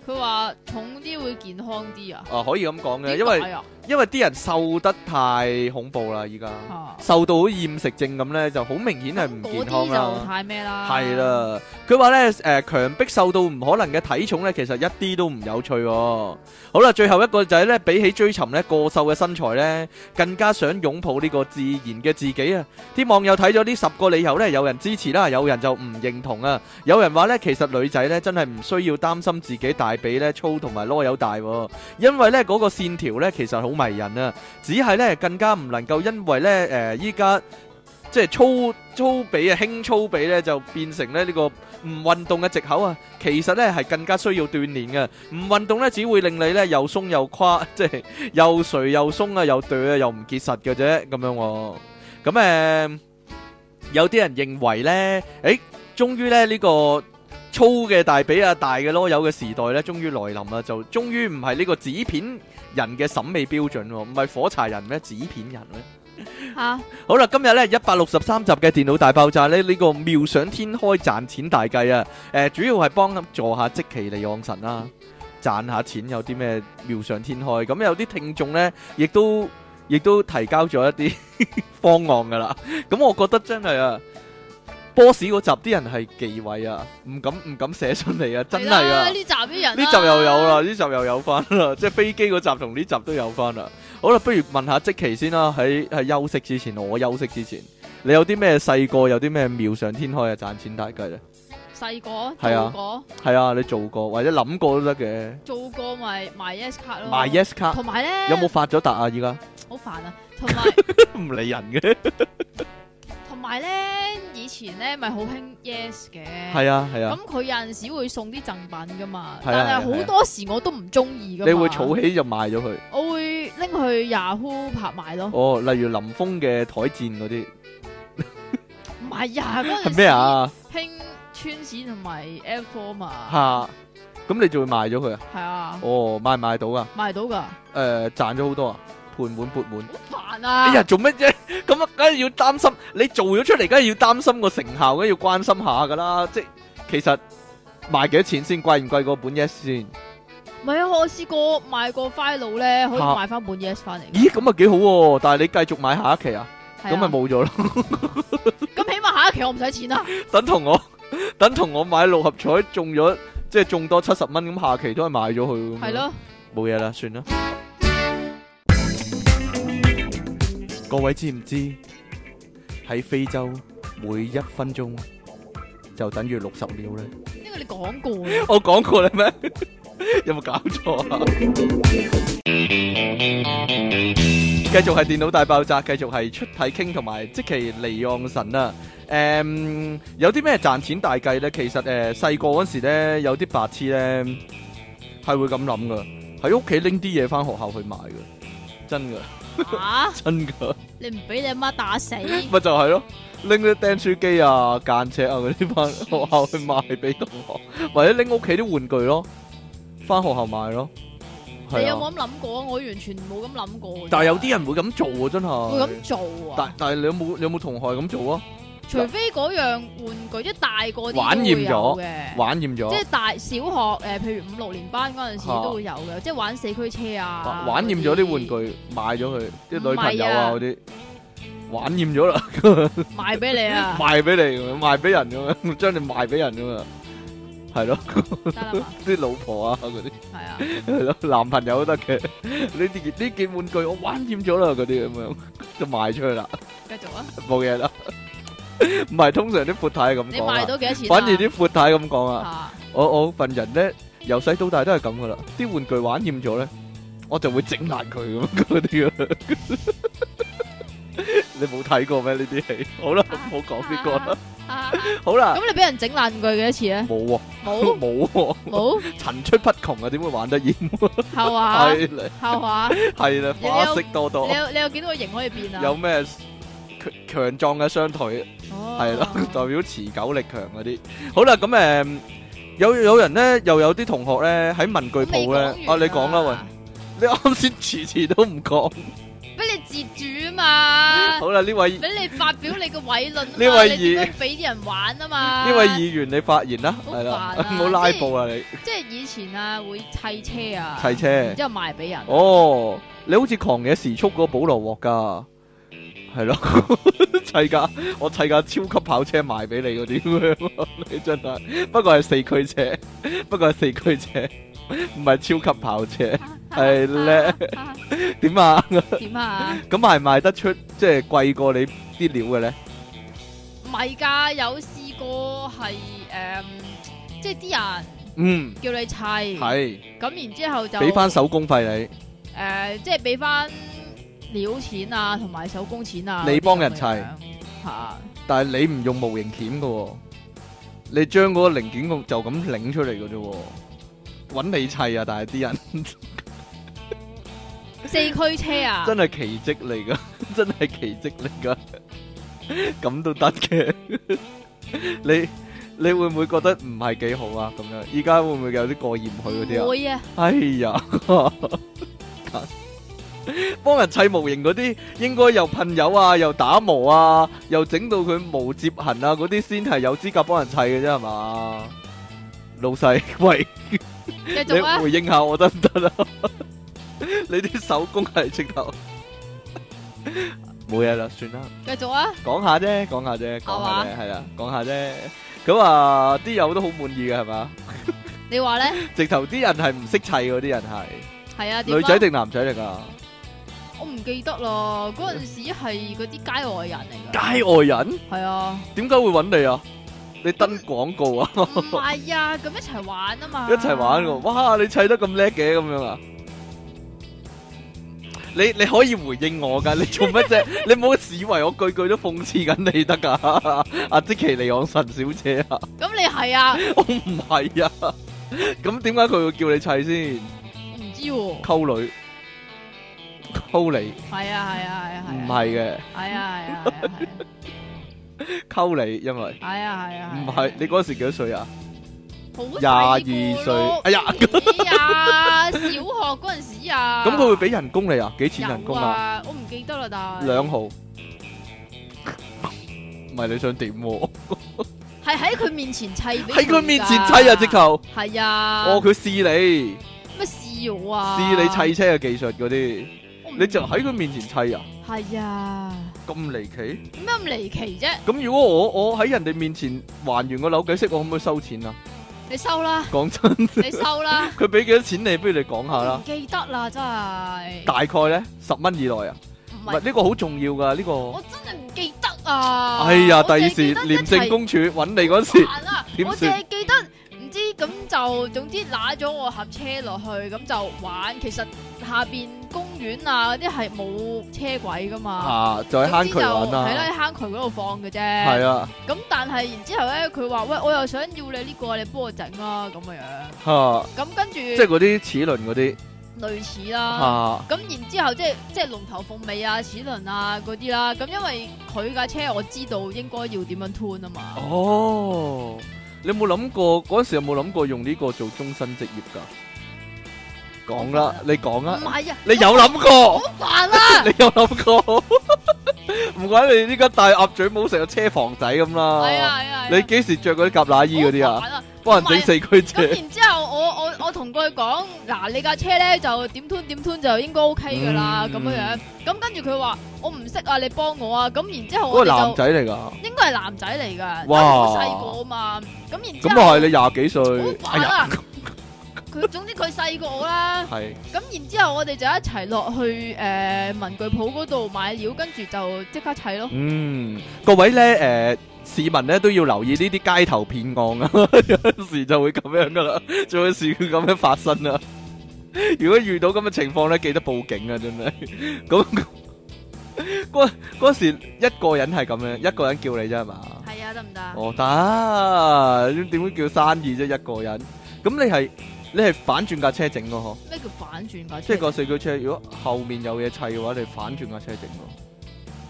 佢話重啲會健康啲啊？ 可以咁講嘅， 點解啊？ 因為啲人瘦得太恐怖啦，依家瘦到好似厭食症咁咧，就好明顯係唔健康啦。 嗰啲就太咩啦？ 係啦，佢話咧強迫瘦到唔可能嘅體重咧，其實一啲都唔有趣喎。好啦，最後一個就係咧，比起追尋咧過瘦嘅身材咧，更加想擁抱呢個自然嘅自己啊！啲網友睇咗呢10個理由咧，有人支持啦，有人就唔認同啊。有人話咧，其實女仔咧真係唔需要擔心自己大髀咧粗同埋囉柚大，因為咧嗰個線條咧其實好迷人啊，只係咧更加唔能夠因為咧依家即係粗髀啊輕粗髀咧就變成咧呢個唔運動嘅藉口啊。其實咧係更加需要鍛鍊嘅，唔運動咧只會令你咧又鬆又垮，即係又垂又鬆啊，又對啊，又唔結實嘅啫咁樣。咁有啲人認為咧，終於咧呢個粗嘅大髀啊，大嘅囉柚嘅時代咧，終於來臨啦！就終於唔係呢個紙片人嘅審美標準，唔係火柴人咩？紙片人咩？ 吓！ 好啦，今日咧163集嘅電腦大爆炸咧，呢個妙想天開賺錢大計啊！主要係幫助下積淇離岸神啦，賺下錢有啲咩妙想天開？咁有啲聽眾咧，亦都提交咗一啲方案噶啦。咁我覺得真係啊！boss 嗰集啲人係忌諱啊，唔敢寫出嚟啊，真係啊！ 呢集啲人呢集又有啦，呢集又有翻啦，即係飛機嗰集同呢集都有翻啦。好啦，不如問下積淇先啦，喺休息之前，我休息之前，你有啲咩細個有啲咩妙想天開啊賺錢大計咧？ 細個係啊做過， 係啊，你做過或者諗過都得嘅。 做過咪賣 yes 卡咯， 賣 yes 卡， 同埋咧有冇發咗達啊？依家好煩啊，同埋唔理人嘅。 同埋咧，以前咧咪好興 yes 嘅， 係啊係啊。 咁佢有陣時會送啲贈品噶嘛， 係啊但係好多時我都唔中意噶嘛。 你會儲起就賣咗佢？ 我會拎去 Yahoo 拍賣咯。 哦，例如林峰嘅台戰嗰啲。 唔係啊，嗰陣時係咩啊？ 興川市同埋 F4 嘛。 吓，咁你就會賣咗佢啊？ 係啊。 哦，賣唔賣到啊？ 賣到噶。 賺咗好多啊，盤滿缽滿。 好煩啊！ 哎呀，做乜啫？咁啊，梗係要擔心，你做咗出嚟，梗係要擔心個成效，梗係要關心下噶啦。即係其實賣幾多錢先？貴唔貴過本 yes 先？ 唔係啊，我試過賣個 file 咧，可以賣翻本 yes 翻嚟。 咦，咁啊幾好喎！但係你繼續買下一期啊，咁咪冇咗咯。 咁起碼下一期我唔使錢啦。 等同我買六合彩中咗，即係中多70蚊，咁下期都係賣咗佢。 係咯， 冇嘢啦，算啦。各位知唔知喺非洲每1分鐘就等於60秒咧？ 呢個你講過。 我講過啦咩？有冇搞錯啊？繼續係電腦大爆炸，繼續係出體傾同埋積淇離岸神啊！有啲咩賺錢大計咧？其實細個嗰時咧，有啲白痴咧係會咁諗噶，喺屋企拎啲嘢翻學校去賣噶，真噶。真噶！你唔俾你阿媽打死，咪就係咯，拎啲釘書機啊、間尺啊嗰啲翻學校去賣俾同學，或者拎屋企啲玩具咯，翻學校賣咯。你有冇咁諗過啊？我完全冇咁諗過。但係有啲人會咁做啊，真係會咁做啊！但係你有冇同學咁做啊？除非嗰樣玩具一大個啲玩厭咗嘅，玩厭咗，即係大小學譬如5、6年班嗰陣時都會有嘅，即係玩四驅車啊。玩厭咗啲玩具，賣咗佢啲女朋友啊嗰啲，玩厭咗啦，賣俾你啊，賣俾你，賣俾人咁樣，將你賣俾人咁啊，係咯，啲老婆啊嗰啲，係啊，係咯，男朋友都得嘅，呢件玩具我玩厭咗啦，嗰啲咁樣就賣出去啦。繼續啊，冇嘢啦。唔係，通常啲闊太係咁講，你賣到幾多錢？反而啲闊太咁講啊！我份人咧，由細到大都係咁噶啦。啲玩具玩厭咗咧，我就會整爛佢咁嗰啲啊！你冇睇過咩呢啲戲？好啦，唔好講呢個啦。好啦，咁你俾人整爛佢幾多次咧？冇喎，冇，冇，層出不窮啊！點會玩得厭？係嘛？係嘛？係啦，花式多多。你有幾多個型可以變啊？有咩？強壯嘅雙腿，係咯，代表持久力強嗰啲。好啦，咁有人咧，又有啲同學咧喺文具鋪咧，你講啦喂，你啱先遲都唔講，俾你截住啊嘛。 好啦，呢位俾你發表你個偉論啊嘛， 呢位你點樣俾啲人玩啊嘛？ 呢位議員你發言啦，係啦，唔好拉布啊你。 即係以前啊會砌車啊， 砌車， 然之後賣俾人。 哦，你好似狂野時速嗰個保羅鑊噶，係咯，砌架我砌架超級跑車賣俾你嗰啲咁樣，你真係，不過係四驅車，不過係四驅車，唔係超級跑車，係咧，點啊？ 點啊？ 咁賣得出即係貴過你啲料嘅咧？ 唔係㗎，有試過係即係啲人叫你砌， 係咁然之後就俾翻手工費你， 即係俾翻料錢啊，同埋手工錢啊， 你幫人砌嚇， 但係你唔用模型鉗㗎喎，你將嗰個零件就咁擰出嚟嘅啫喎，揾你砌啊！但係啲人四驅車啊， 真係奇蹟嚟噶，真係奇蹟嚟噶，咁都得嘅。你會唔會覺得唔係幾好啊？咁樣，依家會唔會有啲過意唔去嗰啲啊？ 會啊！ 哎呀，幫人砌模型嗰啲，應該又噴油啊，又打磨啊，又整到佢無摺痕啊，嗰啲先係有資格幫人砌嘅啫，係嘛？老細，喂， 繼續啊！ 你回應下我得唔得啊？你啲手工係直頭冇嘢啦，算啦。 繼續啊！ 講下啫，講下啫，講下啫，係啦，講下啫。咁啊，啲友都好滿意嘅，係嘛？ 你話咧？ 直頭啲人係唔識砌嗰啲人係。 係啊， 女仔定男仔嚟噶？ 我唔記得啦。嗰陣時係嗰啲街外人嚟噶。 街外人？ 係啊。點解會揾你啊？你登廣告啊？ 唔係啊，咁一齊玩啊嘛。 一齊玩喎！哇，你砌得咁叻嘅咁樣啊？你可以回應我噶，你做乜啫？你唔好以為我句句都諷刺緊你得噶，阿積淇離岸神小姐啊！ 咁你係啊？ 我唔係啊！咁點解佢會叫你砌先？ 唔知喎。 溝女，溝你。 係啊係啊係啊係。 唔係嘅。 係啊係啊係啊。 溝你，因為。 係啊係啊。 唔係，你嗰時幾多歲啊 ？22歲。哎呀！小學嗰陣時啊。 咁佢會俾人工你啊？幾錢人工啊？ 我唔記得啦，但係。 2毫。唔係你想點？ 係喺佢面前砌俾佢。 喺佢面前砌啊！直頭。 係啊。 哦，佢試你。 咩試我啊？ 試你砌車嘅技術嗰啲，你就喺佢面前砌啊？ 係啊。 咁離奇？ 點解咁離奇啫？ 咁如果我喺人哋面前還原個扭計骰，我可唔可以收錢啊？ 你收啦！ 講真， 你收啦！ 佢俾幾多錢你？不如你講下啦。 唔記得啦，真係。 大概咧，10蚊以內啊？唔係呢個好重要噶呢個。 我真係唔記得啊！ 哎呀，第二時廉政公署揾你嗰時， 我淨係記得唔知咁就總之揦咗我盒車落去，咁就玩。其實下邊公園啊嗰啲係冇車軌噶嘛， 就喺坑渠玩啦。 係啦，喺坑渠嗰度放嘅啫。 係啊。咁但係然之後咧，佢話喂，我又想要你呢個，你幫我整啦咁嘅樣。 嚇！ 咁跟住即係嗰啲齒輪嗰啲。 類似啦，咁然之後即係龍頭鳳尾啊、齒輪啊嗰啲啦，咁因為佢架車我知道應該要點樣 tune 啊嘛。 哦，你有冇諗過嗰陣時有冇諗過用呢個做終身職業噶？講啦，你講啊。 唔係啊， 你有諗過？ 好煩啊！ 你有諗過？唔怪你呢家戴鴨嘴帽成個車房仔咁啦。 係啊係啊。 你幾時着嗰啲夾乸衣嗰啲啊？幫人整四驅車。 咁然之後我同佢講，嗱，你架車咧就點 tune 就應該 OK 噶啦，咁樣樣。咁跟住佢話我唔識啊，你幫我啊。咁然之後我哋就男仔嚟噶， 應該係男仔嚟噶， 哇， 好細個啊嘛。咁然之後咁啊係你20幾歲。 好煩啊！佢總之佢細過我啦。係。咁然之後我哋就一齊落去文具鋪嗰度買料，跟住就即刻砌咯。 各位咧市民咧都要留意呢啲街頭騙案啊，有時就會咁樣噶啦，就有時會咁樣發生啊。如果遇到咁嘅情況咧，記得報警啊！真係咁嗰時一個人係咁樣，一個人叫你啫係嘛？係啊，得唔得？哦，得，點會叫生意啫？一個人咁你係反轉架車整咯嗬？咩叫反轉架車？即係個四驅車，如果後面有嘢砌嘅話，你反轉架車整咯。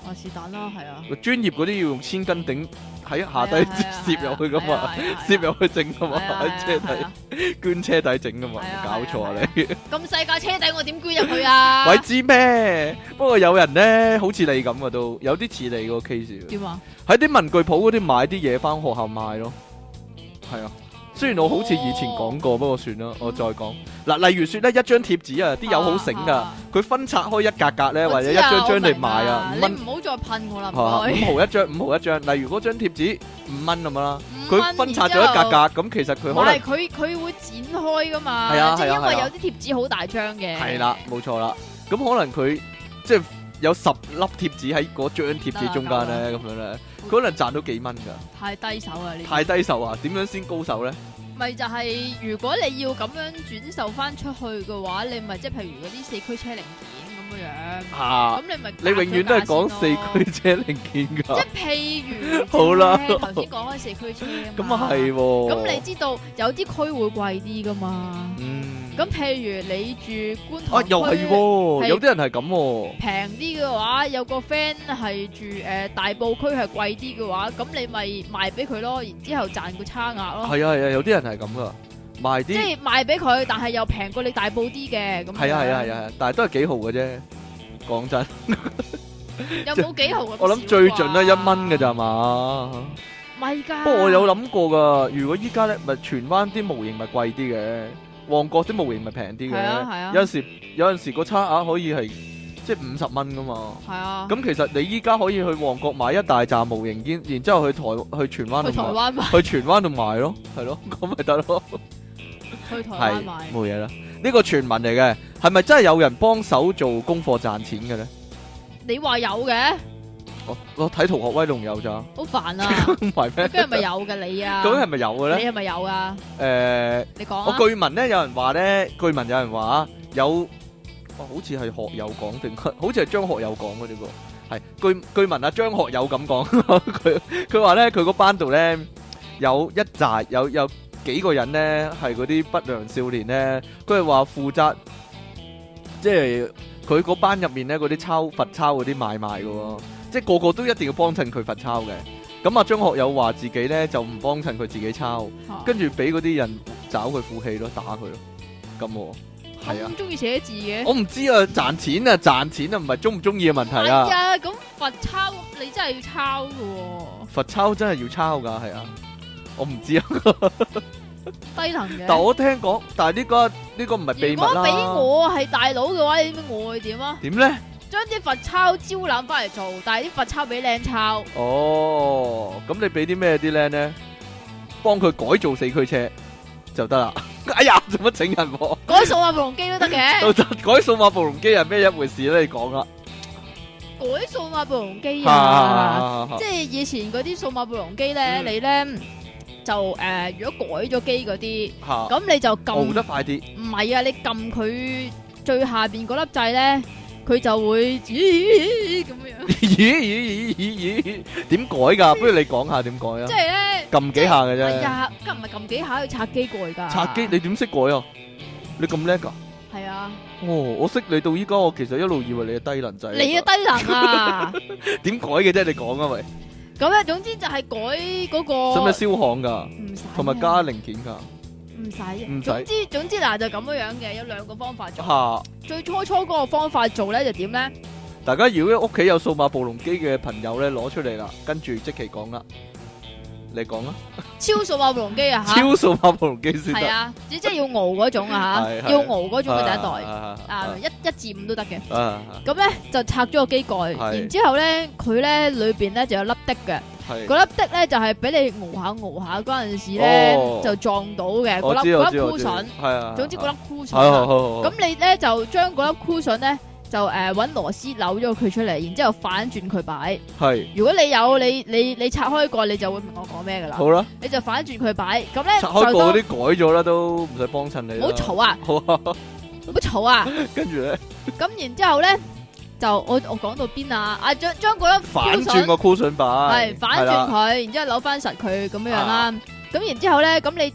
是但啦，係啊。 專業嗰啲要用千斤頂喺下低攝入去噶嘛，攝入去整噶嘛，喺車底捐車底整噶嘛，搞錯啊你！ 咁細架車底我點捐入去啊？ 鬼知咩？不過有人咧好似你咁啊，都有啲似你個 case。 點啊？ 喺啲文具鋪嗰啲買啲嘢翻學校賣咯，係啊。雖然我好似以前講過，不過算啦，我再講嗱。例如說咧，一張貼紙啊，啲友好醒噶，佢分拆開一格格咧，或者一張張嚟賣啊，5蚊。 你唔好再噴我啦，唔該。5毫一張，5毫一張。例如嗰張貼紙5蚊咁樣啦，佢分拆咗一格格，咁其實佢可能佢會剪開噶嘛， 係啊， 即係因為有啲貼紙好大張嘅。 係啦，冇錯啦。咁可能佢即係有10粒貼紙喺嗰張貼紙中間咧，咁樣咧，佢可能賺到幾蚊噶。 太低手啊！呢太低手啊？點樣先高手咧？ 咪就係如果你要咁樣轉售翻出去嘅話，你咪即係譬如嗰啲四驅車零件咁樣。 嚇！ 咁你咪你永遠都係講四驅車零件㗎。 即係譬如， 好啦， 頭先講開四驅車啊嘛。 咁啊係喎。 咁你知道有啲區會貴啲㗎嘛？咁譬如你住觀塘區， 又係喎，有啲人係咁喎。 平啲嘅話，有個 friend 係住大埔區係貴啲嘅話，咁你咪賣俾佢咯，然之後賺個差額咯。 係啊，有啲人係咁噶，賣啲即係賣俾佢，但係又平過你大埔啲嘅咁。 係啊，但係都係幾毫嘅啫。講真， 有冇幾毫？ 我諗最盡都1蚊嘅咋嘛？ 咪㗎。 不過我有諗過㗎，如果依家咧咪荃灣啲模型咪貴啲嘅。旺角啲模型咪平啲嘅，有陣時個差額可以係即係50蚊噶嘛。係啊。咁其實你依家可以去旺角買一大紮模型，然之後去荃灣去荃灣度賣咯，係咯，咁咪得咯。 去台灣買。 冇嘢啦，呢個傳聞嚟嘅，係咪真係有人幫手做功課賺錢嘅咧？你話有嘅。 我睇《逃學威龍》有咋， 好煩啊！唔係咩？咁係咪有嘅你啊？ 究竟係咪有嘅咧？ 你係咪有啊？你講啊！ 我據聞咧，有人話咧，有，好似係學友講定，好似係張學友講嘅呢個，係據聞啊，張學友咁講，佢話咧，佢個班度咧有一紮有幾個人咧係嗰啲不良少年咧，佢係話負責，即係佢嗰班入面咧嗰啲罰抄嗰啲買賣嘅。即係個個都一定要幫襯佢罰抄嘅，咁啊張學友話自己咧就唔幫襯佢自己抄，跟住俾嗰啲人找佢負氣咯，打佢咯，咁係啊。咁中意寫字嘅？我唔知啊，賺錢啊，唔係中唔中意嘅問題啊。係啊， 咁罰抄你真係要抄噶。 罰抄真係要抄噶，係啊，我唔知啊。 低能嘅。 但我聽講，但係呢個唔係秘密啦。如果俾我係大佬嘅話，你知我會點啊？ 點咧？ 將啲罰抄招攬翻嚟做，但係啲罰抄俾靚抄。 哦，咁你俾啲咩啲靚咧？幫佢改造四驅車就得啦。哎呀，做乜整人？ 改數碼暴龍機都得嘅。 改數碼暴龍機係咩一回事咧？你講啦。 改數碼暴龍機啊，即係以前嗰啲數碼暴龍機咧，你咧就如果改咗機嗰啲，咁你就撳得快啲。唔係啊，你撳佢最下邊嗰粒掣咧。佢就會咁樣。 咦？點改㗎？不如你講下點改啊？ 即係咧， 撳幾下嘅啫。 係啊，咁唔係撳幾下要拆機過㗎。 拆機你點識改啊？你咁叻㗎？ 係啊。 哦，我識你到依家，我其實一路以為你係低能仔。 你嘅低能啊？ 點改嘅啫？你講啊喂。 咁咧，總之就係改嗰個。 使唔使燒焊㗎？ 唔使。 同埋加零件㗎。 唔使，總之嗱就咁樣嘅，有2個方法做。最初嗰個方法做咧就點咧？ 大家如果屋企有數碼暴龍機嘅朋友咧，攞出嚟啦，跟住即期講啦，你講啦。超數碼暴龍機啊吓！ 超數碼暴龍機先得。 係啊，即係要熬嗰種啊吓，要熬嗰種嘅第一代1至5都得嘅。咁咧就拆咗個機蓋，然之後咧佢咧裏邊咧就有粒滴嘅。嗰粒滴咧就係俾你熬下嗰陣時咧就撞到嘅嗰粒箍筍，總之嗰粒箍筍。咁你咧就將嗰粒箍筍咧就搵螺絲扭咗佢出嚟，然之後反轉佢擺。係，如果你有你拆開過，你就會明我講咩噶啦。好啦，你就反轉佢擺。咁咧拆開過嗰啲改咗啦，都唔使幫襯你。唔好嘈啊！好啊，唔好嘈啊！跟住咧，咁然之後咧。就我講到邊啊？將嗰粒反轉個箍筍擺，係反轉佢，然之後扭翻實佢咁樣啦。咁然之後咧，咁你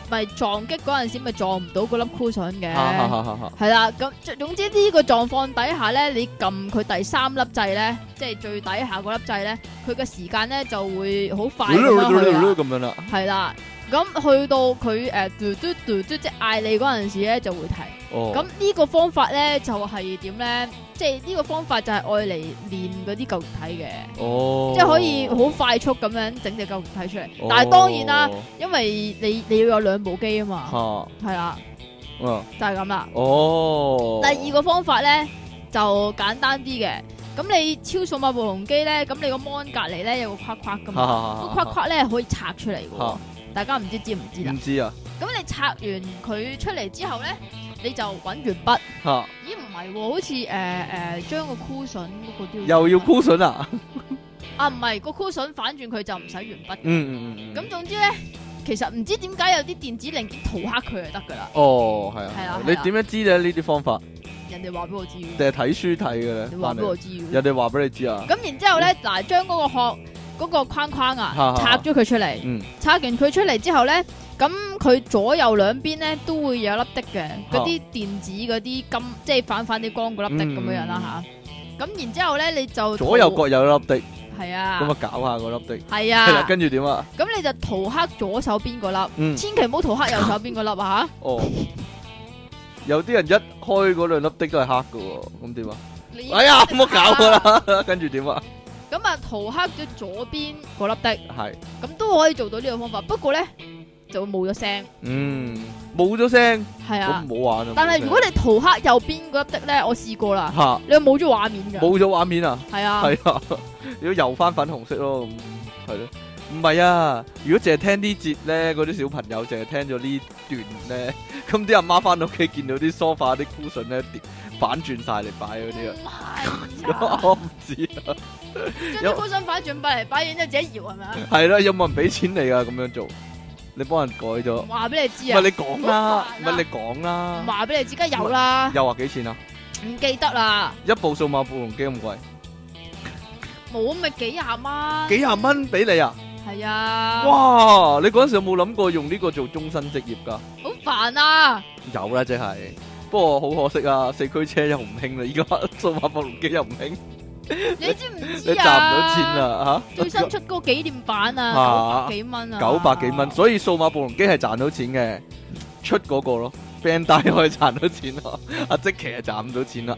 咪撞擊嗰陣時咪撞唔到嗰粒 cushion 嘅， 係係啦。咁總之呢個狀況底下咧，你撳佢第3粒掣咧，即係最底下嗰粒掣咧，佢嘅時間咧就會好快咁樣啦。 係啦，咁去到佢即係嗌你嗰陣時咧就會停。咁呢個方法咧就係點咧？即係呢個方法就係愛嚟練嗰啲舊肉體嘅，即係可以好快速咁樣整隻舊肉體出嚟。但係當然啦，因為你要有2部機啊嘛，係啦，就係咁啦。第2個方法咧就簡單啲嘅，咁你超數碼暴龍機咧，咁你個 mon 隔籬咧有個框框噶嘛，個框框咧可以拆出嚟嘅，大家唔知唔知啦？唔知啊。咁你拆完佢出嚟之後咧，你就揾鉛筆。咦，唔係喎，好似將個 cushion 嗰個都又要 cushion 啊？ 啊，唔係個 cushion 反轉佢就唔使鉛筆。咁總之咧，其實唔知點解有啲電子零件塗黑佢就得噶啦。係啊。你點樣知咧？呢啲方法？人哋話俾我知。定係睇書睇嘅咧？你話俾我知。人哋話俾你知啊？咁然之後咧，嗱，將嗰個殼嗰個框框啊，拆咗佢出嚟。拆完佢出嚟之後咧。咁佢左右兩邊咧都會有粒滴嘅，嗰啲電子嗰啲金，即係反啲光嗰粒滴咁樣啦吓。咁然之後咧，你就左右各有一粒滴，係啊。咁啊，搞下嗰粒滴，係啊。跟住點啊？咁你就塗黑左手邊嗰粒，千祈唔好塗黑右手邊嗰粒啊吓。有啲人一開嗰2粒滴都係黑㗎，咁點啊？哎呀，唔好搞㗎啦！跟住點啊？咁啊，塗黑咗左邊嗰粒滴，係。咁都可以做到呢個方法，不過咧。就會冇咗聲，冇咗聲，係啊，咁唔好玩啊！但係如果你塗黑右邊嗰粒的咧，我試過啦，你又冇咗畫面噶，冇咗畫面啊，係啊，係啊，如果油翻粉紅色咯，咁係咯，唔係啊，如果淨係聽呢節咧，嗰啲小朋友淨係聽咗呢段咧，咁啲阿媽翻到屋企見到啲梳化啲 cushion 咧反轉晒嚟擺嗰啲啊，我唔知啊，將啲 cushion反轉擺嚟擺，然之後自己搖係咪啊？係啦，有冇人俾錢你啊？咁樣做？你幫人改咗，話俾你知啊！唔係你講啦，唔係你講啦，話俾你知，梗係有啦。又話幾錢啊？唔記得啦。一部數碼暴龍機咁貴，冇咪幾廿蚊？幾廿蚊俾你啊？係啊。哇！你嗰陣時有冇諗過用呢個做終身職業㗎？好煩啊！有啦，即係，不過好可惜啊，4驅車又唔興啦，依家數碼暴龍機又唔興。你知唔知啊？你賺唔到錢啊！吓，最新出嗰個紀念版啊，900幾蚊啊，900幾蚊，所以數碼暴龍機係賺到錢嘅，出嗰個咯 ，Bandai 可以賺到錢咯，阿積淇係賺唔到錢啦，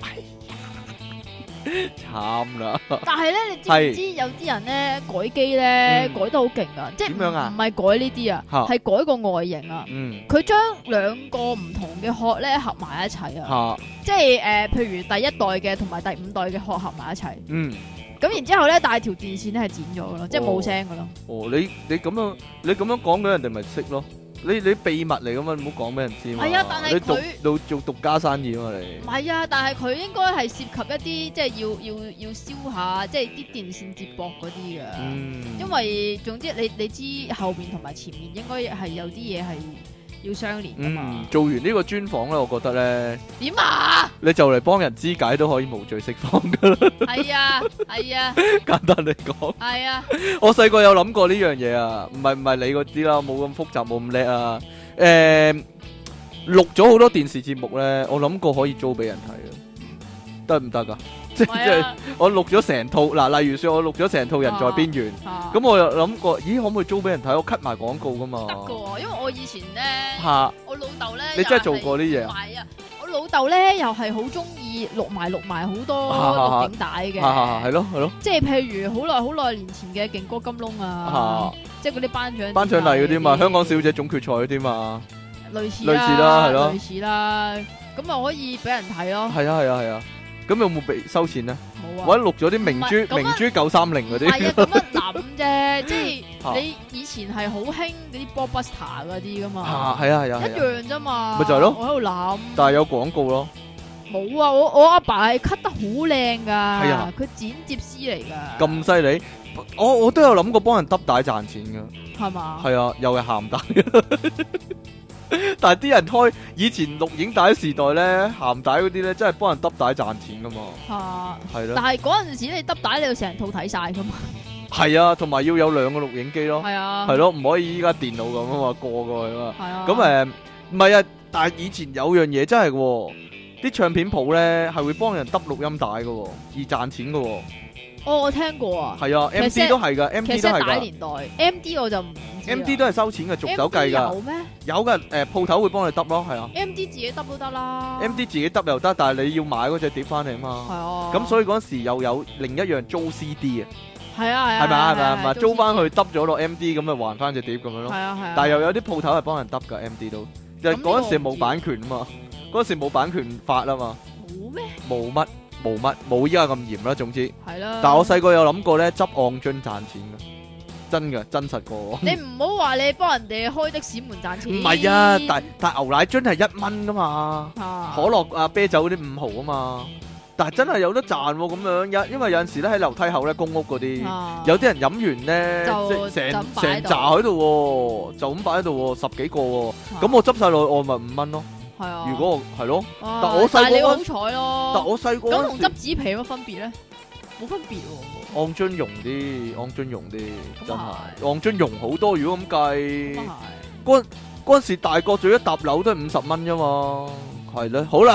慘啦！但係咧，你知唔知有啲人咧改機咧改得好勁啊？即係點樣啊？唔係改呢啲啊，係改個外形啊。佢將2個唔同嘅殼咧合埋一齊啊。即係譬如第1代嘅同埋第5代嘅殼合埋一齊。咁然之後咧，但係條電線咧係剪咗嘅咯，即係冇聲嘅咯。你咁樣講嘅人哋咪識咯？你秘密嚟噶嘛？唔好講俾人知嘛。係啊，但係佢做獨家生意啊嘛，你。唔係啊，但係佢應該係涉及一啲即係要燒下，即係啲電線接駁嗰啲嘅。因為總之你知後面同埋前面應該係有啲嘢係要相連噶嘛。做完呢個專訪咧，我覺得咧點啊？你就嚟幫人肢解都可以無罪釋放噶啦。係啊，係啊。簡單嚟講。係啊。我細個有諗過呢樣嘢啊，唔係你嗰啲啦，冇咁複雜，冇咁叻啊。錄咗好多電視節目咧，我諗過可以租俾人睇啊，得唔得噶？即係我錄咗成套嗱，例如說我錄咗成套《人在邊緣》，咁我又諗過，咦，可唔可以租俾人睇？我 cut 埋廣告噶嘛？得噶，因為我以前咧，我老豆咧，你真係做過啲嘢？唔係啊，我老豆咧又係好中意錄埋好多錄影帶嘅，係咯，即係譬如好耐年前嘅勁歌金窿啊，即係嗰啲頒獎禮嗰啲嘛，香港小姐總決賽嗰啲嘛，類似啦，係咯，類似啦，咁啊可以俾人睇咯，係啊。咁有冇被收錢咧？冇啊！或者錄咗啲明珠930嗰啲。係啊，咁樣諗啫，即係你以前係好興嗰啲 Blockbuster 嗰啲噶嘛。係啊，一樣啫嘛。咪就係咯。我喺度諗。但係有廣告咯。冇啊！我阿爸係 cut 得好靚㗎。係啊。佢剪接師嚟㗎。咁犀利！我都有諗過幫人揼帶賺錢㗎。係嘛？係啊，又係鹹帶。但係啲人開以前錄影帶時代咧，鹹帶嗰啲咧，真係幫人揼帶賺錢噶嘛。係咯。但係嗰陣時你揼帶你要成套睇晒噶嘛。 係啊，同埋要有2個錄影機咯。 係啊， 係咯，唔可以依家電腦咁啊嘛，過去啊嘛。 係啊。 咁唔係啊，但係以前有樣嘢真係喎，啲唱片鋪咧係會幫人揼錄音帶嘅喎，而賺錢嘅喎。 哦，我聽過啊。 係啊，MD 都係㗎，MD 都係㗎。 年代 MD 我就唔知。 MD 都係收錢嘅，逐手計㗎。 有咩？ 有㗎，鋪頭會幫你揼咯，係啊。 MD 自己揼都得啦。 MD 自己揼又得，但係你要買嗰隻碟翻嚟啊嘛。 係啊。 咁所以嗰時又有另一樣租 CD 啊。 係啊係啊。 係咪租翻去揼咗落 MD 咁咪還翻隻碟咁樣咯。 係啊係啊。 但係又有啲鋪頭係幫人揼㗎 MD 都，就嗰陣時冇版權啊嘛，嗰陣時冇版權法啊嘛。 冇咩？ 冇依家咁嚴啦，總之。 係啦。 但係我細個有諗過咧，執按樽賺錢嘅，真嘅，真實過。 你唔好話你幫人哋開的士門賺錢。 唔係啊，但係牛奶樽係1蚊噶嘛，可樂啊啤酒嗰啲5毫啊嘛，但係真係有得賺喎咁樣，因為有陣時咧喺樓梯口咧公屋嗰啲，有啲人飲完咧，成扎喺度喎，就咁擺喺度喎，10幾個喎，咁我執晒落去我咪5蚊咯。係啊，如果係咯，但我細個，但係你好彩咯。但我細個咁同執紙皮有乜分別咧？冇分別喎。 按樽溶啲，真係按樽溶好多。如果咁計，嗰陣時大個做一沓樓都係50蚊啫嘛，係咧。好啦，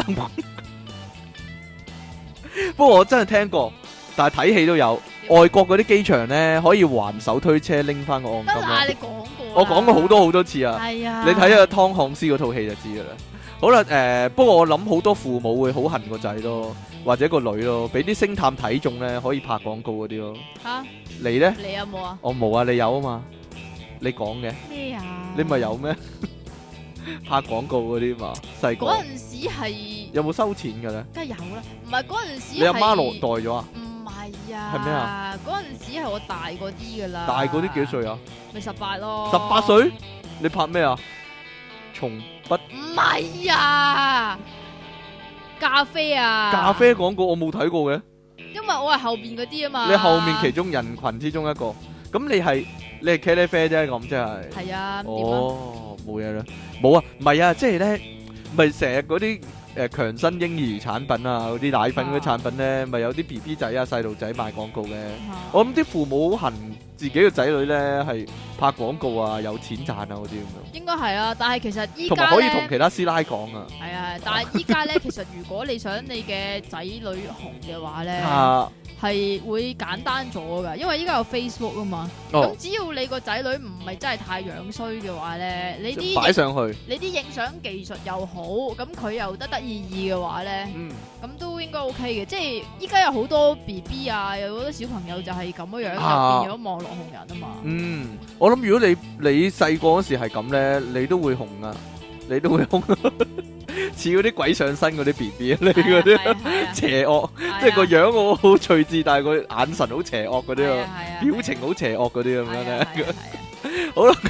不過我真係聽過，但係睇戲都有。外國嗰啲機場咧可以還手推車拎翻個按金。 得啦，你講過。 我講過好多次啊。 係啊。 你睇下湯漢斯嗰套戲就知噶啦。好啦，不過我諗好多父母會好恨個仔咯，或者個女咯，俾啲星探睇中咧，可以拍廣告嗰啲咯。吓，你咧？ 你有冇啊？ 我冇啊，你有啊嘛？你講嘅咩啊？ 你咪有咩？拍廣告嗰啲嘛，細個嗰陣時係有冇收錢嘅咧？ 梗係有啦，唔係嗰陣時。 你阿媽落袋咗啊？ 唔係啊。 係咩啊？ 嗰陣時係我大嗰啲噶啦。 大嗰啲幾歲啊？ 咪18咯。 18歲？你拍咩啊？從不唔係啊，咖啡啊， 咖啡廣告我冇睇過嘅， 因為我係後邊嗰啲啊嘛。 你後面其中人群之中一個，咁你係茄喱啡啫，咁即係。係啊。哦，冇嘢啦，冇啊，唔係啊，即係咧，咪成日嗰啲強身嬰兒產品啊，嗰啲奶粉嗰啲產品咧，咪有啲 BB 仔啊細路仔賣廣告嘅。我諗啲父母好恨自己嘅仔女咧係拍廣告啊，有錢賺啊嗰啲咁樣。應該係啊，但係其實依家同埋可以同其他師奶講啊。係啊，但係依家咧，其實如果你想你嘅仔女紅嘅話咧，係會簡單咗噶，因為依家有 Facebook 啊嘛。咁只要你個仔女唔係真係太樣衰嘅話咧，你啲擺上去，你啲影相技術又好，咁佢又得意嘅話咧，咁都應該 OK 嘅。即係依家有好多 BB 啊，有好多小朋友就係咁樣樣，就變咗網絡紅人啊嘛。我諗如果你細個嗰時係咁咧，你都會紅啊，你都會紅，似嗰啲鬼上身嗰啲 BB 啊，你嗰啲邪惡，即係個樣好趣致，但係個眼神好邪惡嗰啲啊，表情好邪惡嗰啲咁樣咧。好啦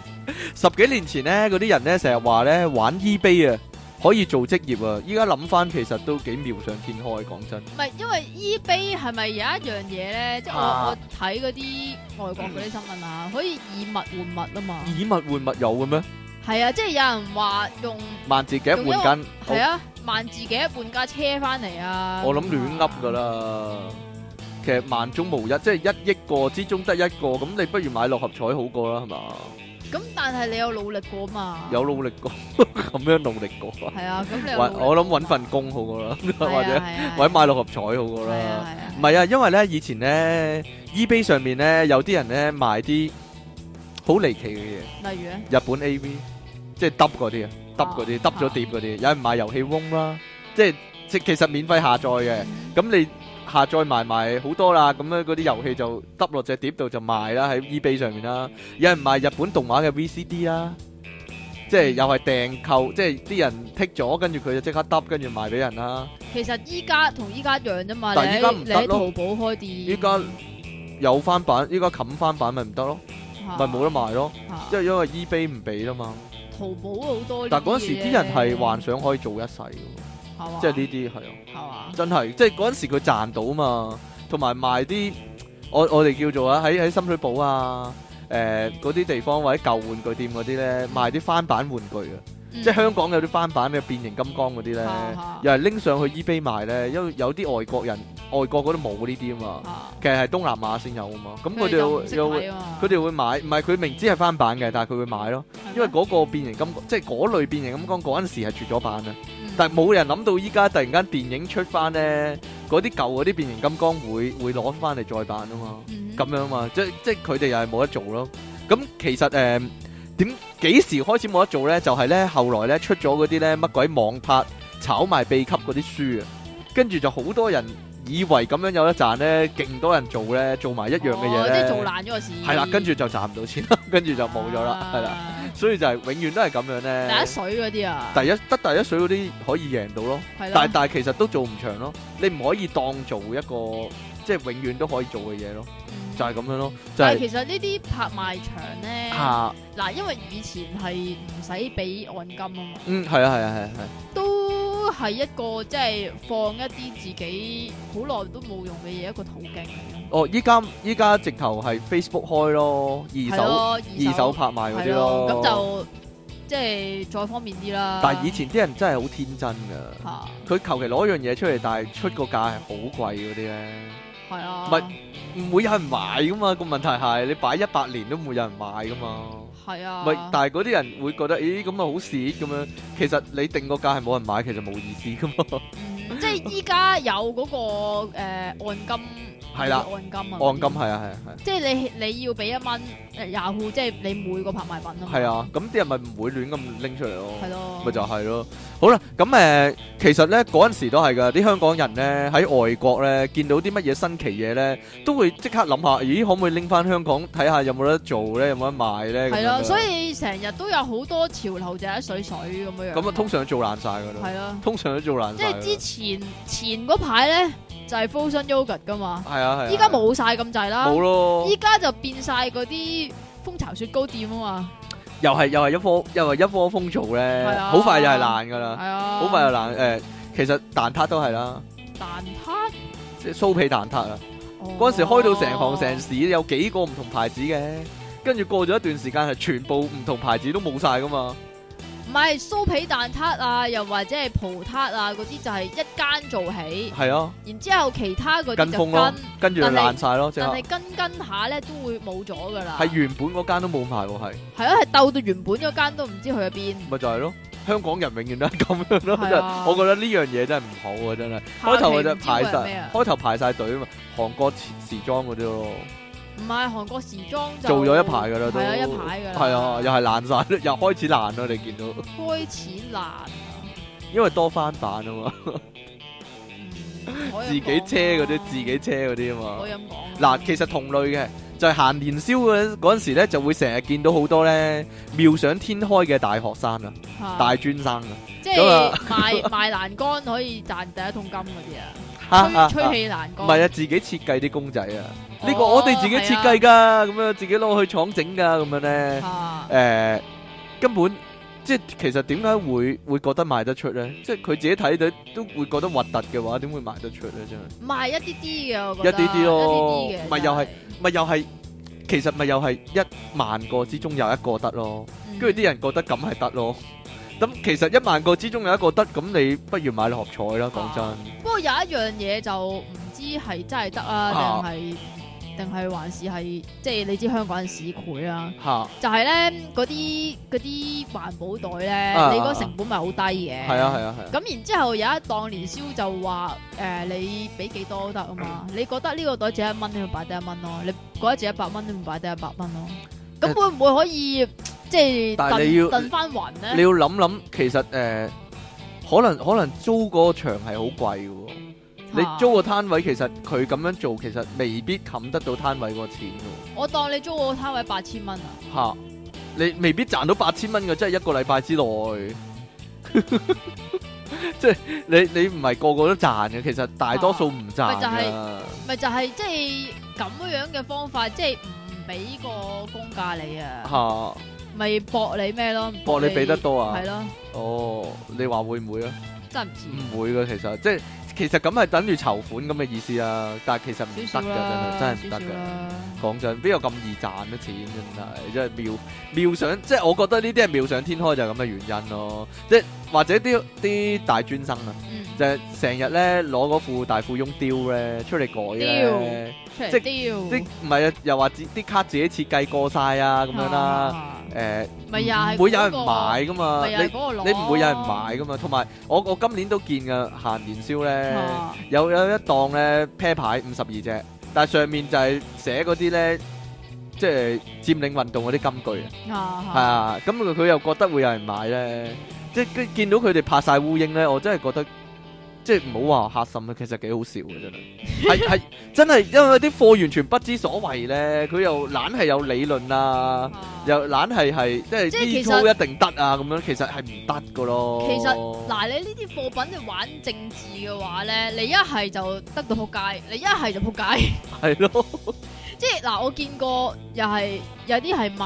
，10幾年前咧，嗰啲人咧成日話咧玩 eBay 啊，可以做職業啊，依家諗翻其實都幾妙想天開，講真。唔係，因為 eBay 係咪有一樣嘢咧？即係我睇嗰啲外國嗰啲新聞啊，可以以物換物啊嘛。以物換物有嘅咩？係啊，即係有人話用萬字夾換間，係啊，萬字夾換架車翻嚟啊。我諗亂噏噶啦，其實萬中無一，即係1億個之中得一個，咁你不如買6合彩好過啦，係嘛？咁但係你有努力過嘛？有努力過，咁樣努力過啊？係啊，咁你我諗搵份工好過啦，或者買6合彩好過啦。唔係啊，因為咧以前咧 eBay 上面咧有啲人咧賣啲好離奇嘅嘢，例如咧日本 AV。即係揼嗰啲啊，揼嗰啲，揼咗碟嗰啲，有人買遊戲翁啦，即其實免費下載嘅，咁你下載埋好多啦，咁咧嗰啲遊戲就揼落隻碟度就賣啦，喺 eBay 上面啦，有人賣日本動畫嘅 VCD 啦，即係又係訂購，即係啲人剔咗，跟住佢就即刻揼，跟住賣俾人啦。其實依家同依家一樣啫嘛，但係依家唔得咯，你喺淘寶開店，依家有翻版，依家冚翻版咪唔得咯，咪冇得賣咯，即係因為 eBay 唔俾啦嘛。淘寶好多，但嗰陣時啲人係幻想可以做一世嘅，即係呢啲係啊，真係，即係嗰陣時佢賺到嘛，同埋賣啲我哋叫做啊喺深水埗啊，嗰啲地方或者舊玩具店嗰啲咧賣啲翻版玩具啊， 即係香港有啲翻版嘅變形金剛嗰啲咧，又係拎上去 eBay 賣咧，因為有啲外國嗰度冇呢啲啊嘛，其實係東南亞先有啊嘛，咁佢哋會買，唔係佢明知係翻版嘅，但係佢會買咯，因為嗰個變形金剛，即係嗰類變形金剛嗰陣時係絕咗版啊，但係冇人諗到依家突然間電影出翻咧，嗰啲舊嗰啲變形金剛會攞翻嚟再版啊嘛，咁樣嘛，即係佢哋又係冇得做咯。咁其實幾時開始冇得做咧？就係咧後來咧出咗嗰啲咧乜鬼網拍炒賣秘笈嗰啲書啊，跟住就好多人以為咁樣有得賺咧，勁多人做咧，做埋一樣嘅嘢咧， 即係做爛咗個事。係啦，跟住就賺唔到錢啦，跟住就冇咗啦，係啦，所以就係永遠都係咁樣咧。 第一水嗰啲啊， 第一水嗰啲可以贏到咯，但係其實都做唔長咯，你唔可以當做一個即係永遠都可以做嘅嘢咯。就係咁樣咯， 但係其實呢啲拍賣場咧，嗱，因為以前係唔使俾按金啊嘛， 係啊， 都係一個即係放一啲自己好耐都冇用嘅嘢一個途徑。 哦，依家直頭係 Facebook 開咯，二手拍賣嗰啲咯， 咁就即係再方便啲啦。 但係以前啲人真係好天真噶，佢求其攞樣嘢出嚟，但係出個價係好貴嗰啲咧， 係啊， 唔會有人買噶嘛，個問題係你擺100年都唔會有人買噶嘛。 係啊， 但係嗰啲人會覺得，咦咁啊好蝕咁樣。其實你定個價係冇人買，其實冇意思噶嘛。 即係依家有嗰個按金， 係啦，按金係啊。 即係你要俾1蚊Yahoo，即係你每個拍賣品啊嘛。 係啊，咁啲人咪唔會亂咁拎出嚟咯。 係咯， 咪就係咯。好啦，咁其實咧嗰陣時都係噶，啲香港人咧喺外國咧見到啲乜嘢新奇嘢咧，都會即刻諗下，咦可唔可以拎翻香港睇下有冇得做咧，有冇得賣咧？ 係咯，所以成日都有好多潮流就一水咁樣樣。 咁啊，通常都做爛晒噶啦。 係咯， 通常都做爛晒。 即係之前嗰排咧就係 Frozen Yogurt 噶嘛。 係啊。 依家冇晒咁滯啦。 冇咯。依家就變晒嗰啲蜂巢雪糕店啊嘛。 又係一窩蜂做咧，好快又係爛噶啦，好快又爛。其實蛋撻都係啦， 蛋撻即係酥皮蛋撻啊。嗰陣時開到成行成市，有幾個唔同牌子嘅，跟住過咗一段時間係全部唔同牌子都冇晒噶嘛。 唔係酥皮蛋撻啊，又或者係葡撻啊，嗰啲就係一間做起。係啊。然之後其他嗰啲就跟住就爛晒咯。 但係跟下咧都會冇咗噶啦。 係原本嗰間都冇賣喎，係。 係啊，係鬥到原本嗰間都唔知去咗邊。 咪就係咯，香港人永遠都係咁樣咯。啊、我覺得呢樣嘢真係唔好啊，真係。開頭就排晒隊啊嘛，韓國時裝嗰啲咯。 唔係韓國時裝就做咗一排噶啦，都係啊，一排噶啦。 係啊，又係爛晒，又開始爛啦，你見到。 開始爛啊！ 因為多翻版啊嘛。自己車嗰啲啊嘛。 可以咁講。 嗱，其實同類嘅就係行年宵嗰陣時咧，就會成日見到好多咧妙想天開嘅大學生啊，大專生啊， 即係賣欄杆可以賺第一桶金嗰啲啊，吹氣欄杆。 唔係啊，自己設計啲公仔啊。呢個我哋自己設計噶，咁樣自己攞去廠整噶，咁樣咧，根本即係其實點解會覺得賣得出咧？即係佢自己睇到都會覺得核突嘅話，點會賣得出咧？真係賣一啲啲嘅，我覺得一啲啲咯， 一啲啲嘅， 咪又係，其實咪又係10000個之中有一個得咯，跟住啲人覺得咁係得咯。咁其實10000個之中有一個得，咁你不如買六合彩啦，講真。 不過有一樣嘢就唔知係真係得啊，定係還是係即係你知香港人市儈啊，就係咧嗰啲環保袋咧，你嗰成本咪好低嘅。係啊。 咁然之後有一檔年宵就話你俾幾多都得啊嘛，你覺得呢個袋值1蚊，你咪擺低1蚊咯；你覺得值100蚊，你咪擺低100蚊咯。咁會唔會可以即係燉翻勻咧？ 你要諗，其實可能租嗰個場係好貴嘅。你租個攤位，其實佢咁樣做，其實未必冚得到攤位個錢嘅。我當你租個攤位8000蚊啊！你未必賺到8000蚊嘅，即係一個禮拜之內。即係你唔係個個都賺嘅，其實大多數唔賺㗎。咪就係即係咁樣嘅方法，即係唔俾個公價你啊！咪搏你咩咯？搏你俾得多啊！係咯。哦，你話會唔會啊？真係唔知。唔會嘅，其實即係。 其實咁係等於籌款咁嘅意思啊，但係其實唔得㗎，真係唔得㗎。講真，邊有咁易賺嘅錢真係妙想，即係我覺得呢啲係妙想天開就係咁嘅原因咯。即係或者啲大專生啊，就係成日咧攞嗰副大富翁雕咧出嚟改咧，即係唔係啊？又話啲卡自己設計過晒啊咁樣啦。唔會有人買噶嘛，你唔會有人買噶嘛。同埋我今年都見嘅閒年銷咧，有一檔咧啤牌52隻，但係上面就係寫嗰啲咧，即係佔領運動嗰啲金句啊，係啊，咁佢又覺得會有人買咧，即係見到佢哋拍晒烏蠅咧，我真係覺得。即係唔好話嚇心啊，其實幾好笑嘅真係，係真係因為啲貨完全不知所謂咧，佢又懶係有理論啊，又懶係即係呢套一定得啊咁樣，其實係唔得噶咯。 其實嗱，你呢啲貨品你玩政治嘅話咧，你一係就得到撲街，你一係就撲街。 係咯， 即係嗱，我見過又係有啲係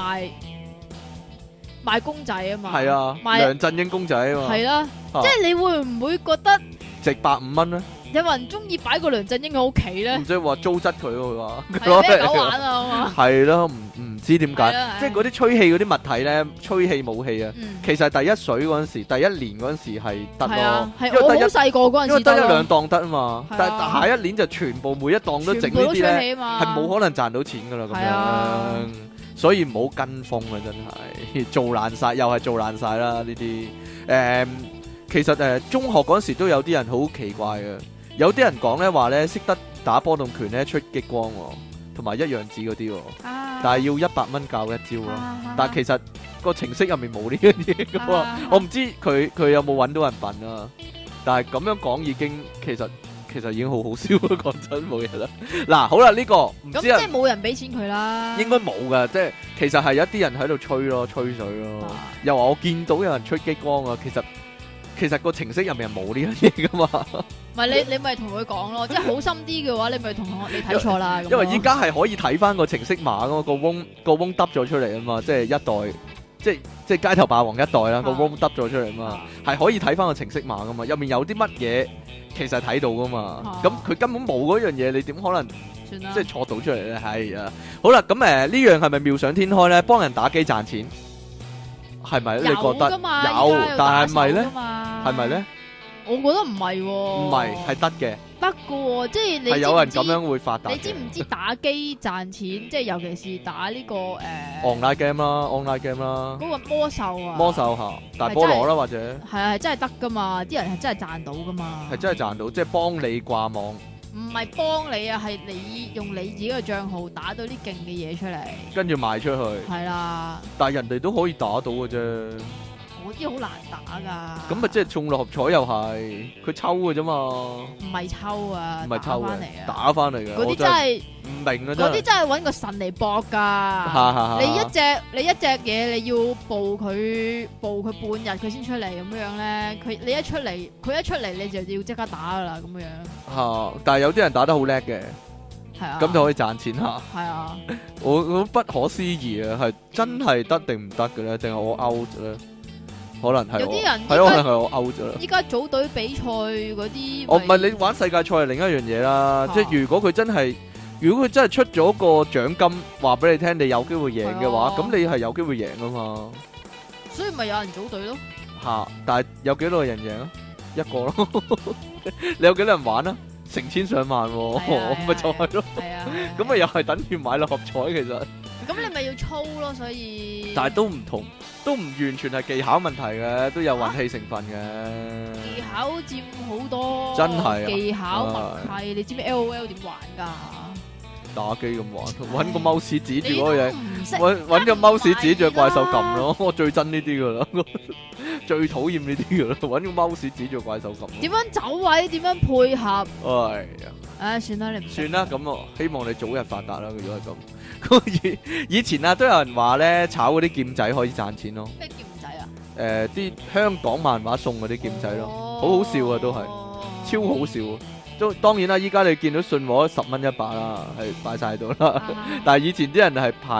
賣公仔啊嘛， 係啊，梁振英公仔啊嘛， 係啦，即係你會唔會覺得？ 值150蚊咧， 有人中意擺個梁振英喺屋企咧， 唔知話糟質佢佢話， 係咩狗玩啊嘛， 係咯，唔知點解，即係嗰啲吹氣嗰啲物體咧，吹氣武器啊，其實第一水嗰陣時，第一年嗰陣時係得咯， 因為我好細個嗰陣時， 因為得一兩檔得啊嘛，但係下一年就全部每一檔都整呢啲咧，係冇可能賺到錢噶啦咁樣，所以唔好跟風啊，真係做爛晒，又係做爛晒啦呢啲，其實中學嗰陣時都有啲人好奇怪嘅，有啲人講咧話咧識得打波動拳咧出激光同埋一樣子嗰啲，但係要100蚊教一招咯。但係其實個程式入面冇呢樣嘢噶嘛，我唔知佢有冇揾到人笨啊。但係咁樣講已經其實已經好好笑咯，講真冇嘢啦。嗱，好啦，呢個唔知啊， 咁即係冇人俾錢佢啦。 應該冇噶，即係其實係有一啲人喺度吹水咯，又話我見到有人出激光啊，其實個程式入面係冇呢樣嘢噶嘛， 唔係你咪同佢講咯，即係好心啲嘅話，你咪同我你睇錯啦。 因為依家係可以睇翻個程式碼噶嘛，個翁耷咗出嚟啊嘛，即係一代，即係街頭霸王一代啦，個翁耷咗出嚟啊嘛，係可以睇翻個程式碼噶嘛，入面有啲乜嘢其實睇到噶嘛，咁佢根本冇嗰樣嘢，你點可能即係錯到出嚟咧？係啊，好啦，咁呢樣係咪妙想天開咧？幫人打機賺錢？係咪？你覺得有？但係咪咧？係咪咧？ 我覺得唔係喎。 唔係，係得嘅。 得嘅喎，即係你係有人咁樣會發達。 你知唔知打機賺錢？即係尤其是打呢個 online game 啦，online game 啦。 嗰個魔獸啊。魔獸嚇，大菠蘿啦或者。 係啊，係真係得㗎嘛！啲人係真係賺到㗎嘛。 係真係賺到，即係幫你掛網。 唔係幫你啊，係你用你自己嘅帳號打到啲勁嘅嘢出嚟， 跟住賣出去。係啦，但係人哋都可以打到嘅啫。 嗰啲好難打㗎。 咁咪即係中六合彩又係，佢抽嘅啫嘛。唔係抽啊， 唔係抽翻嚟啊， 打翻嚟嘅。 嗰啲真係唔明啊！ 嗰啲真係揾個神嚟搏㗎。你一隻嘢你要報佢半日佢先出嚟咁樣咧，佢一出嚟你就要即刻打㗎啦咁樣。 但係有啲人打得好叻嘅。 係啊， 咁就可以賺錢嚇。 係啊， 我不可思議啊，係真係得定唔得嘅咧？定係我 out 咧？可能係有啲人係可能係我 out 咗啦。 依家組隊比賽嗰啲， 唔係你玩世界賽係另一樣嘢啦。即係如果佢真係出咗個獎金，話俾你聽，你有機會贏嘅話，咁你係有機會贏啊嘛。 所以咪有人組隊咯。 嚇！但係有幾多個人贏啊？一個咯。你有幾多人玩啊？成千上萬喎，咪就係咯。係啊，咁咪又係等於買六合彩其實。 咁你咪要操咯，所以。但係都唔同，都唔完全係技巧問題嘅，都有運氣成分嘅。 技巧佔好多。真係啊！技巧默契，你知唔知 LOL 點玩㗎？ 打機咁玩，揾個 mouse 指住嗰個嘢，揾個 mouse 指住怪獸撳咯。我最憎呢啲噶啦，最討厭呢啲噶啦，揾個 mouse 指住怪獸撳。點樣走位？點樣配合？哎呀，算啦，你唔算啦。咁我希望你早日發達啦。如果係咁，以前啊都有人話咧，炒嗰啲劍仔可以賺錢咯。咩劍仔啊？啲香港漫畫送嗰啲劍仔咯，好好笑啊，都係超好笑。當然啦，依家你見到信和10蚊一把啦，係擺晒喺度啦。但係以前啲人係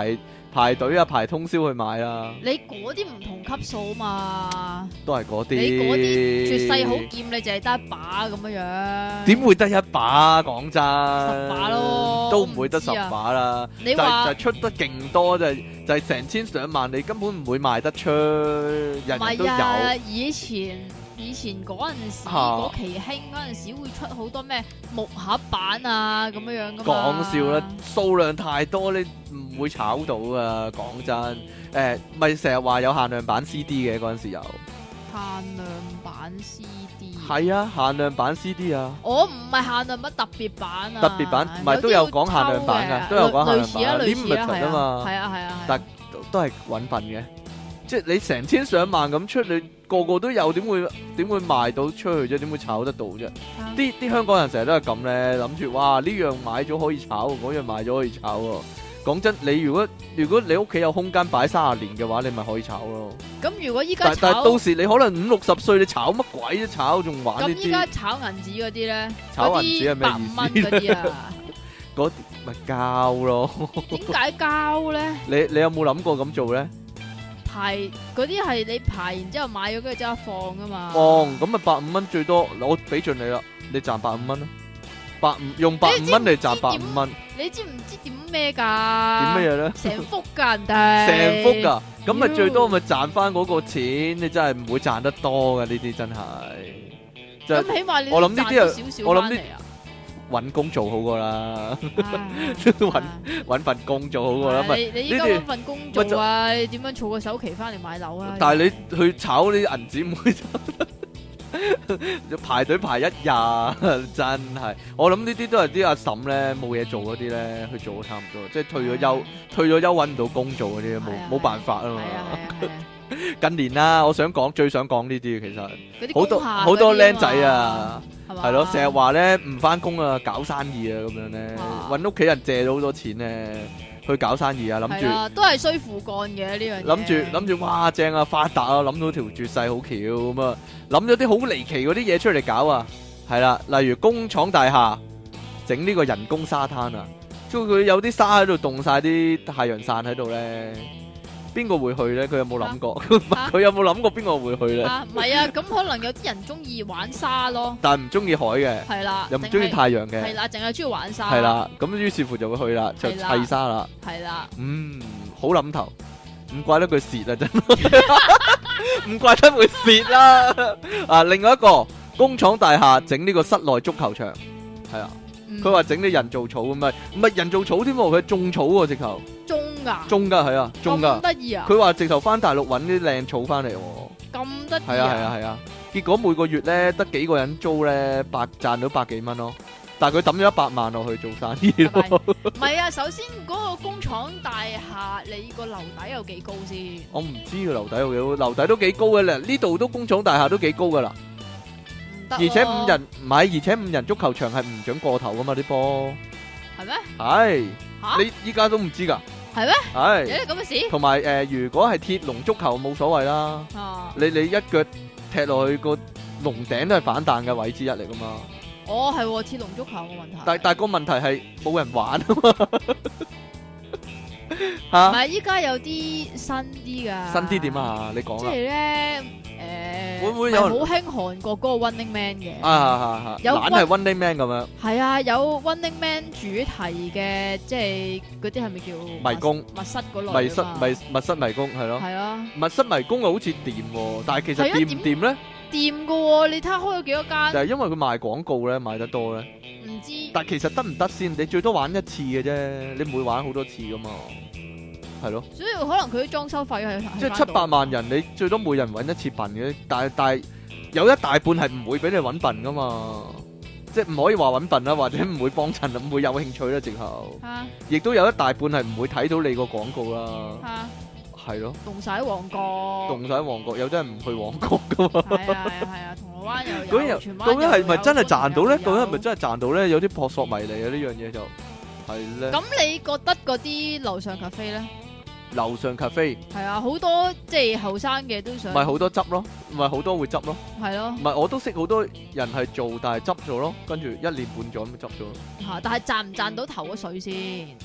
排隊啊，排通宵去買啊。 你嗰啲唔同級數嘛， 都係嗰啲。 你嗰啲絕世好劍，你淨係得一把咁樣樣。 點會得一把啊？講真 ，10把咯， 都唔會得10把啦。 你話就出得勁多，就係成千上萬，你根本唔會賣得出，人人都有。 唔係啊，以前嗰陣時嗰期興嗰陣時會出好多咩木盒版啊咁樣樣噶嘛。 講笑啦，數量太多，你唔會炒到啊！講真，咪成日話有限量版 CD 嘅嗰陣時有。 限量版 CD。 係啊，限量版 CD 啊。 我唔係限量版，特別版啊。 特別版唔係都有講限量版噶，都有講限量版。 類似啊， 啊嘛。 係啊。 但都係揾笨嘅，即係你成千上萬咁出，你個個都有，點會賣到出去啫？點會炒得到啫？啲香港人成日都係咁咧，諗住哇呢樣買咗可以炒，嗰樣買咗可以炒喎。講真，你如果你屋企有空間擺30年嘅話，你咪可以炒咯。 咁如果依家但係到時你可能50、60歲，你炒乜鬼啫？炒仲玩呢啲？咁依家炒銀紙嗰啲咧， 炒銀紙係咩意思？ 100蚊嗰啲啊， 嗰啲咪膠咯。 點解膠咧？ 你有冇諗過咁做咧？ 排嗰啲係你排完之後買咗跟住即刻放噶嘛？ 放咁咪150蚊最多，我俾盡你啦，你賺150蚊啦，用150蚊嚟賺150蚊。 你知唔知點咩噶？ 點咩嘢咧？ 成幅噶人哋， 成幅噶，咁咪最多咪賺翻嗰個錢，你真係唔會賺得多噶呢啲真係。 咁起碼你我諗呢啲少少翻嚟啊！ 搵工做好過啦，搵份工做好過啦。 你依家搵份工做啊？你點樣儲個首期翻嚟買樓啊？ 但係你去炒啲銀紙唔會要排隊排1日，真係。我諗呢啲都係啲阿嬸咧冇嘢做嗰啲咧去做，差唔多，即係退咗休搵唔到工做嗰啲，冇辦法啊嘛。近年啦，我最想講呢啲，其實好多僆仔啊，係咯，成日話咧唔翻工啊，搞生意啊咁樣咧，搵屋企人借咗好多錢咧去搞生意啊，諗住都係衰父幹嘅呢樣嘢。 諗住哇正啊，發達啊，諗到條絕世好橋咁啊，諗咗啲好離奇嗰啲嘢出嚟搞啊，係啦，例如工廠大廈整呢個人工沙灘啊，即係佢有啲沙喺度凍晒啲太陽傘喺度咧。邊個會去咧？佢有冇諗過？佢有冇諗過邊個會去咧？ 唔係啊，咁可能有啲人中意玩沙咯， 但係唔中意海嘅， 係啦， 又唔中意太陽嘅， 係啦，淨係中意玩沙， 係啦，咁於是乎就會去啦，就砌沙啦， 係啦， 好諗頭，唔怪得佢蝕啊，真，唔怪得會蝕啦。啊，另外一個工廠大廈整呢個室內足球場，係啊。佢話整啲人造草，唔係人造草添喎，佢種草喎，直頭種噶係啊，種噶，咁得意啊！佢話直頭翻大陸揾啲靚草翻嚟， 咁得意啊！ 係啊，結果每個月咧得幾個人租咧，賺到100幾蚊咯，但係佢抌咗100萬落去做生意咯。 唔係啊，首先嗰個工廠大廈你個樓底有幾高先？ 我唔知個樓底有幾高，樓底都幾高嘅咧，呢度都工廠大廈都幾高噶啦。而且5人足球場係唔准過頭噶嘛啲波，係咩？係，你依家都唔知噶， 係咩？ 係， 有啲咁嘅事。 同埋如果係鐵籠足球冇所謂啦，你一腳踢落去個籠頂都係反彈嘅位置一嚟噶嘛。 哦，係鐵籠足球嘅問題。 但係個問題係冇人玩啊嘛。吓，唔係依家有啲新啲噶。 新啲點啊？你講啦。即係咧。 會唔會有好興韓國嗰個 Running Man 嘅？ 有懶係 Running Man 咁樣。係啊，有 Running Man 主題嘅，即係嗰啲係咪叫迷宮、 密室嗰類？ 密室迷宮係咯。 係啊， 密室迷宮又好似掂，但係其實掂唔掂咧？ 掂噶，你睇下開咗幾多間？ 就係因為佢賣廣告咧，賣得多咧。 唔知。 但係其實得唔得先？你最多玩一次嘅啫，你唔會玩好多次噶嘛。係咯， 所以可能佢啲裝修費係即係700萬人，你最多每人揾一次笨嘅，但係有一大半係唔會俾你揾笨噶嘛，即係唔可以話揾笨啦，或者唔會幫襯，唔會有興趣啦，直頭。亦都有一大半係唔會睇到你個廣告啦。係咯。凍晒喺旺角，有啲人唔去旺角噶嘛。 係啊，銅鑼灣又有。 究竟係咪真係賺到咧？究竟係咪真係賺到咧？有啲撲朔迷離啊！呢樣嘢就係咧。 咁你覺得嗰啲樓上咖啡咧？ 樓上咖啡係啊，好多即係後生嘅都想， 唔係好多執咯，唔係好多會執咯， 係咯， 唔係我都識好多人係做，但係執咗咯，跟住1年半載咁執咗。 但係賺唔賺到頭嗰水先？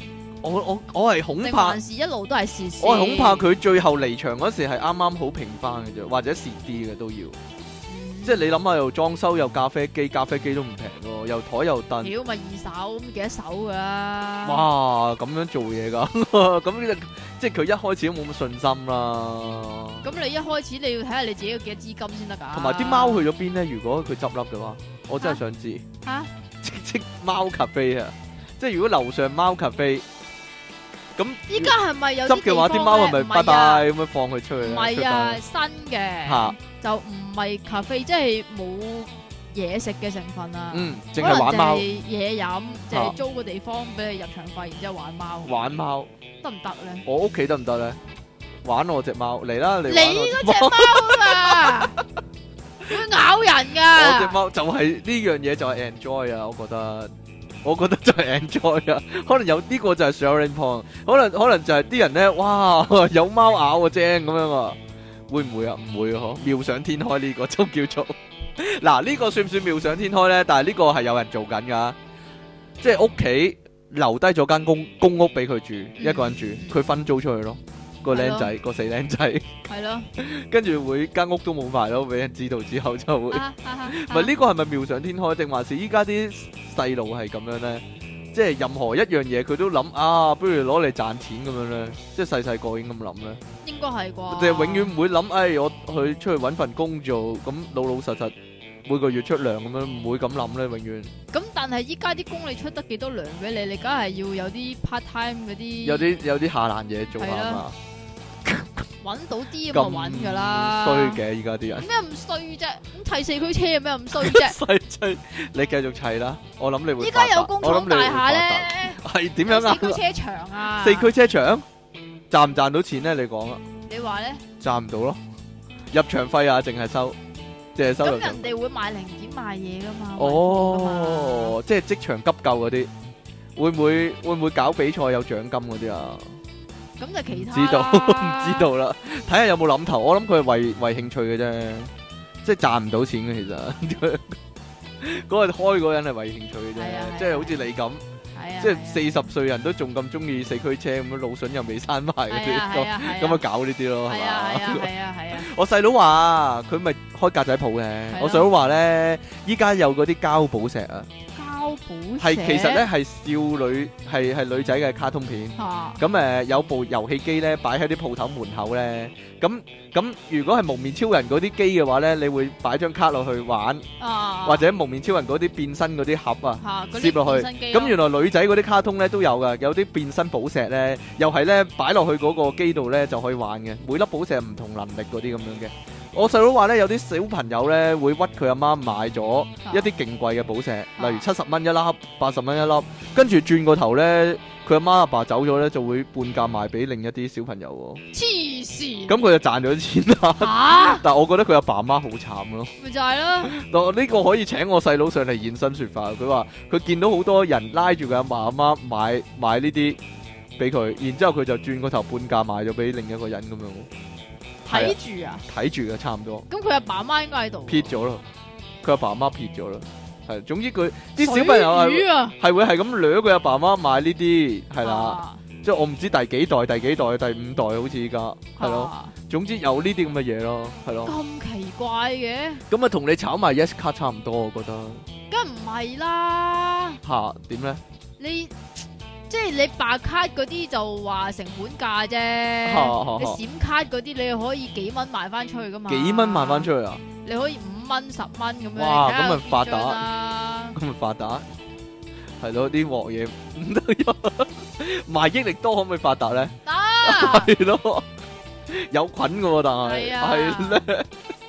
我係恐定怕， 還是一路都係蝕先？ 我係恐怕佢最後離場嗰時係啱啱好平翻嘅啫，或者蝕啲嘅都要。即係你諗下，又裝修又咖啡機都唔平喎，又台又凳。 屌咪二手咁幾多手㗎啦？ 哇，咁樣做嘢㗎，咁即係佢一開始都冇乜信心啦。 咁你一開始你要睇下你自己有幾多資金先得㗎。 同埋啲貓去咗邊咧？如果佢執笠嘅話，我真係想知。 嚇！ 即貓咖啡啊！即係如果樓上貓咖啡，咁依家係咪有執嘅話，啲貓係咪拜拜咁樣放佢出去咧？ 唔係啊，新嘅嚇就唔係咖啡，即係冇嘢食嘅成分啊。 淨係玩貓， 嘢飲，就係租個地方俾你入場費，然之後玩貓。 玩貓得唔得咧？ 我屋企得唔得咧？玩我隻貓嚟啦！你嗰隻貓啊，會咬人㗎。 我隻貓就係呢樣嘢就係 enjoy 啊！我覺得就係 enjoy 啊！可能有呢個就係 sharing point，可能就係啲人咧，哇有貓咬個精咁樣啊！會唔會啊？唔會啊！嗬，妙想天開呢個就叫做嗱，呢個算唔算妙想天開咧？但係呢個係有人做緊噶，即係屋企留低咗間公屋俾佢住，一個人住，佢分租出去咯。個僆仔，個死僆仔， 係咯， 跟住會間屋都冇埋咯，俾人知道之後就會，唔係呢個係咪妙想天開定還是依家啲細路係咁樣咧？即係任何一樣嘢佢都諗啊，不如攞嚟賺錢咁樣咧，即係細個已經咁諗咧。 應該係啩？ 即係永遠唔會諗，我去出去揾份工做，咁老實實每個月出糧咁樣，唔會咁諗咧，永遠。 咁但係依家啲工你出得幾多糧俾你？你梗係要有啲 part time 嗰啲， 有啲下難嘢做下嘛。 揾到啲咁就揾㗎啦。 衰嘅依家啲人。 點解咁衰啫？咁砌四驅車有咩咁衰啫？ 砌，你繼續砌啦。我諗你會。 依家有工廠大廈咧， 係點樣啊？ 四驅車場啊。 四驅車場賺唔賺到錢咧？你講啊。 你話咧？ 賺唔到咯，入場費啊，淨係收。咁人哋會賣零件賣嘢噶嘛？ 哦，即係職場急救嗰啲，會唔會搞比賽有獎金嗰啲啊？ 咁就其他唔知道啦，睇下有冇諗頭。我諗佢係為興趣嘅啫，即係賺唔到錢嘅其實。嗰個開嗰個人係為興趣嘅啫，即係好似你咁，即係40歲人都仲咁中意四驅車咁樣，腦筍又未生埋嗰啲，咁啊搞呢啲咯，係嘛？ 係啊！ 我細佬話佢咪開格仔鋪嘅，我細佬話咧，依家有嗰啲膠寶石啊。係其實咧係少女係女仔嘅卡通片，咁有部遊戲機咧擺喺啲鋪頭門口咧，咁如果係蒙面超人嗰啲機嘅話咧，你會擺張卡落去玩，或者蒙面超人嗰啲變身嗰啲盒啊，攝落去。咁原來女仔嗰啲卡通咧都有噶，有啲變身寶石咧，又係咧擺落去嗰個機度咧就可以玩嘅，每粒寶石唔同能力嗰啲咁樣嘅。我細佬話咧，有啲小朋友咧會屈佢阿媽買咗一啲勁貴嘅寶石，例如70蚊一粒、80蚊一粒，跟住轉個頭咧，佢阿媽阿爸走咗咧，就會半價賣俾另一啲小朋友喎。 黐線！ 咁佢就賺咗錢啦。但係我覺得佢阿爸阿媽好慘咯。 咪就係咯。 呢個可以請我細佬上嚟現身說法。佢話佢見到好多人拉住佢阿爸阿媽買呢啲俾佢，然之後佢就轉個頭半價賣咗俾另一個人咁樣。 睇住啊！ 睇住嘅差唔多。 咁佢阿爸阿媽應該喺度。 撇咗咯，佢阿爸阿媽撇咗啦。係，總之佢啲小朋友係會係咁掠佢阿爸阿媽買呢啲，係啦。即係我唔知第幾代、第5代，好似依家係咯。總之有呢啲咁嘅嘢咯，係咯。 咁奇怪嘅。 咁啊，同你炒埋 Yes 卡差唔多，我覺得。 梗唔係啦。 吓，點咧？ 即係你白卡嗰啲就話成本價啫，你閃卡嗰啲你可以幾蚊賣翻出去噶嘛？ 幾蚊賣翻出去啊？ 你可以5蚊、10蚊咁樣。 哇，咁咪發達，咁咪發達，係咯，啲鑊嘢唔得，賣益力多可唔可以發達咧？ 得， 係咯，有菌噶喎，但係係咧，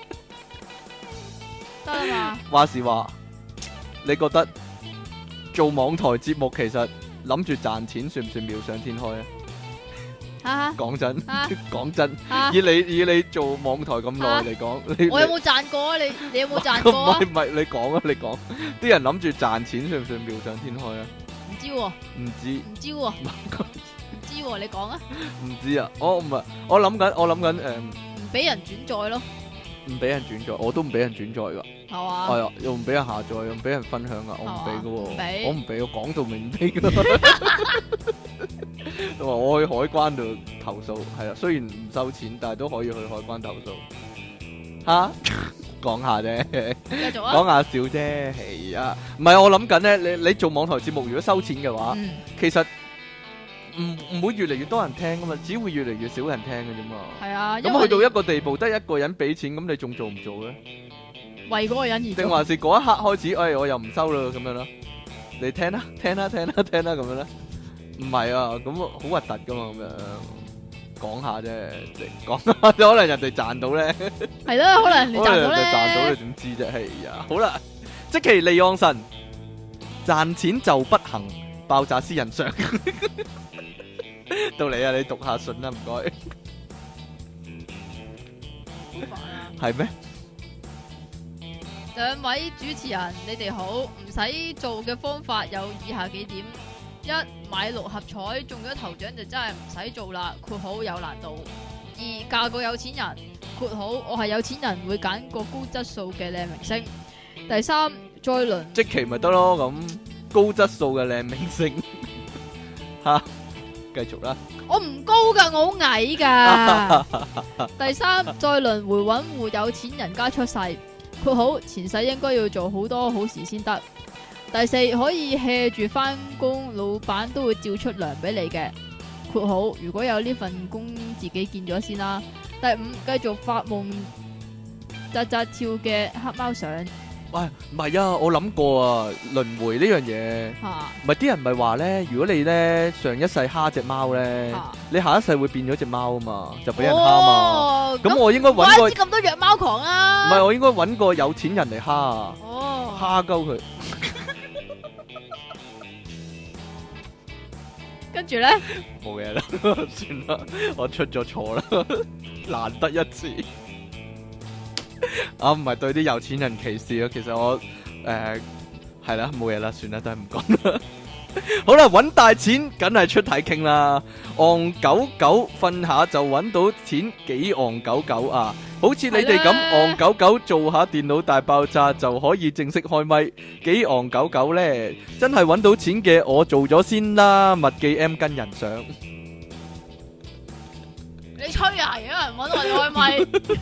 得啊嘛。 話時話，你覺得做網台節目其實？諗住賺錢算唔算妙想天開啊？講真，講真，以你做網台咁耐嚟講， 我有冇賺過啊？你有冇賺過啊？ 唔係，你講啊，你講。啲人諗住賺錢算唔算妙想天開啊？ 唔知喎， 唔知喎，唔知喎，你講啊？ 唔知啊，我諗緊， 唔俾人轉載咯。 唔俾人轉載，我都唔俾人轉載噶。 係嘛？ 係啊，又唔俾人下載，又唔俾人分享啊，我唔俾噶喎，我唔俾，我講到明唔俾噶。我話我去海關度投訴，係啊，雖然唔收錢，但係都可以去海關投訴。吓，講下啫， 繼續啊， 講下笑啫，係啊，唔係我諗緊咧，你做網台節目如果收錢嘅話，其實唔會越嚟越多人聽噶嘛，只會越嚟越少人聽嘅啫嘛。 係啊， 咁去到一個地步，得一個人俾錢，咁你仲做唔做咧？ 為嗰個人而做， 定還是嗰一刻開始，我又唔收啦咁樣啦？你聽啦，聽啦，聽啦，聽啦咁樣咧？唔係啊，咁好核突噶嘛咁樣。講下啫，講下可能人哋賺到咧， 係咯，可能你賺到咧， 賺到你點知啫？係啊，好啦，積淇離岸神賺錢就不行，爆炸私人相，到你啊，你讀下信啦，唔該。 好煩啊！ 係咩？ 兩位主持人，你哋好，唔使做嘅方法有以下幾點。一，買六合彩中咗頭獎就真係唔使做啦，括號有難度。二，嫁個有錢人，括號我係有錢人會揀個高質素嘅靚明星。第三，再輪積淇咪得咯，咁高質素嘅靚明星吓，繼續啦。 我唔高噶，我好矮噶。第三，再輪回揾戶有錢人家出世，括號前世應該要做好多好事先得。第四，可以 hea 住翻工，老闆都會照出糧俾你嘅。括號如果有呢份工，自己見咗先啦。第五，繼續發夢扎扎跳嘅黑貓相。 喂，唔係啊，我諗過啊，輪迴呢樣嘢，唔係啲人咪話咧，如果你咧上一世蝦隻貓咧，你下一世會變咗隻貓啊嘛，就俾人蝦嘛。咁我應該揾個咁多虐貓狂啊！ 唔係，我應該揾個有錢人嚟蝦啊，蝦鳩佢。 跟住咧， 冇嘢啦，算啦，我出咗錯啦，難得一次。啊，唔係對啲有錢人歧視啊，其實我係啦，冇嘢啦，算啦，都係唔講啦。好啦，揾大錢梗係出體傾啦，戇狗狗瞓下就揾到錢，幾戇狗狗啊！好似你哋咁戇狗狗做下電腦大爆炸就可以正式開咪，幾戇狗狗咧？真係揾到錢嘅，我做咗先啦，麥記 M 跟人上。 你吹啊！有人揾我哋開咪，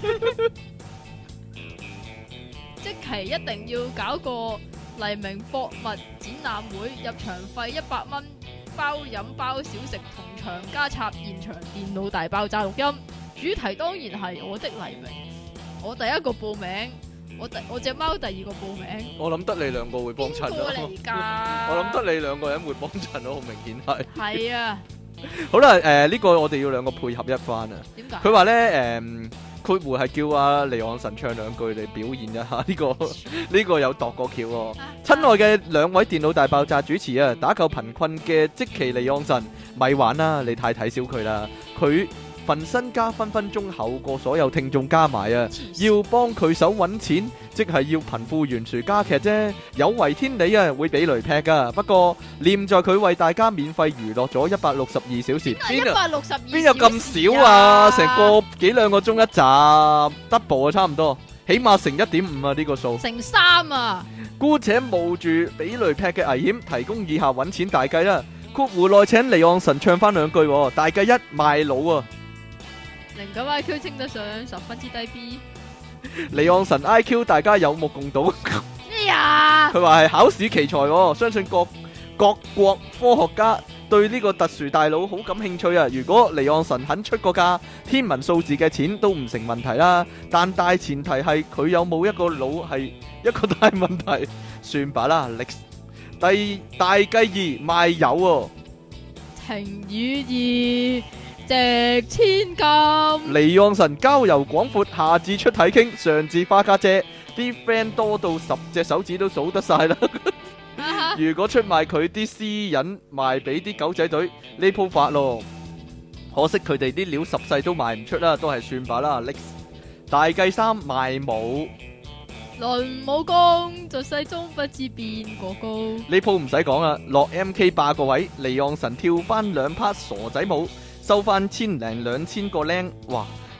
即期一定要搞個黎明博物展覽會，入場費100蚊，包飲包小食，同場加插現場電腦大爆炸錄音。主題當然係我的黎明，我第一個報名，我隻貓第二個報名。我諗得你兩個會幫襯咯。邊個嚟㗎？我諗得你兩個人會幫襯咯，好明顯係。係啊。好啦，呢個我哋要兩個配合一番啊。點解？佢話咧，括弧係叫阿離岸神唱兩句嚟表現一下呢個有度過橋喎。親愛嘅兩位電腦大爆炸主持啊，打救貧困嘅積淇離岸神，咪玩啦，你太睇小佢啦，佢份身家分分鐘厚過所有聽眾加埋啊！要幫佢手揾錢，即係要貧富懸殊加劇啫。有違天理啊，會俾雷劈噶。不過念在佢為大家免費娛樂咗162小時，邊有咁少啊？成個幾兩個鐘一集 ，double 啊，差唔多，起碼乘1.5啊呢個數。乘3啊！姑且冒住俾雷劈嘅危險，提供以下揾錢大計啦。括弧內請離岸神唱翻兩句，大計一賣腦啊！09 IQ 稱得上10分之低 B， 離岸神 IQ 大家有目共睹。咩呀？佢話係考試奇才，相信各國科學家對呢個特殊大腦好感興趣啊！如果離岸神肯出個價，天文數字嘅錢都唔成問題啦。但大前提係佢有冇一個腦係一個大問題。算吧啦，第大計二賣友情與義值千金。離岸神交遊廣闊，下至出體傾，上至花家姐，啲 friend 多到10隻手指都數得晒啦。如果出賣佢啲私隱賣俾啲狗仔隊，呢鋪發咯。可惜佢哋啲料10世都賣唔出啦，都係算吧啦。大計3賣武。論武功，在世中不知邊個高。呢鋪唔使講啦，落 MK 霸個位，離岸神跳翻2 part 傻仔舞，收翻1000零2000個靚，哇！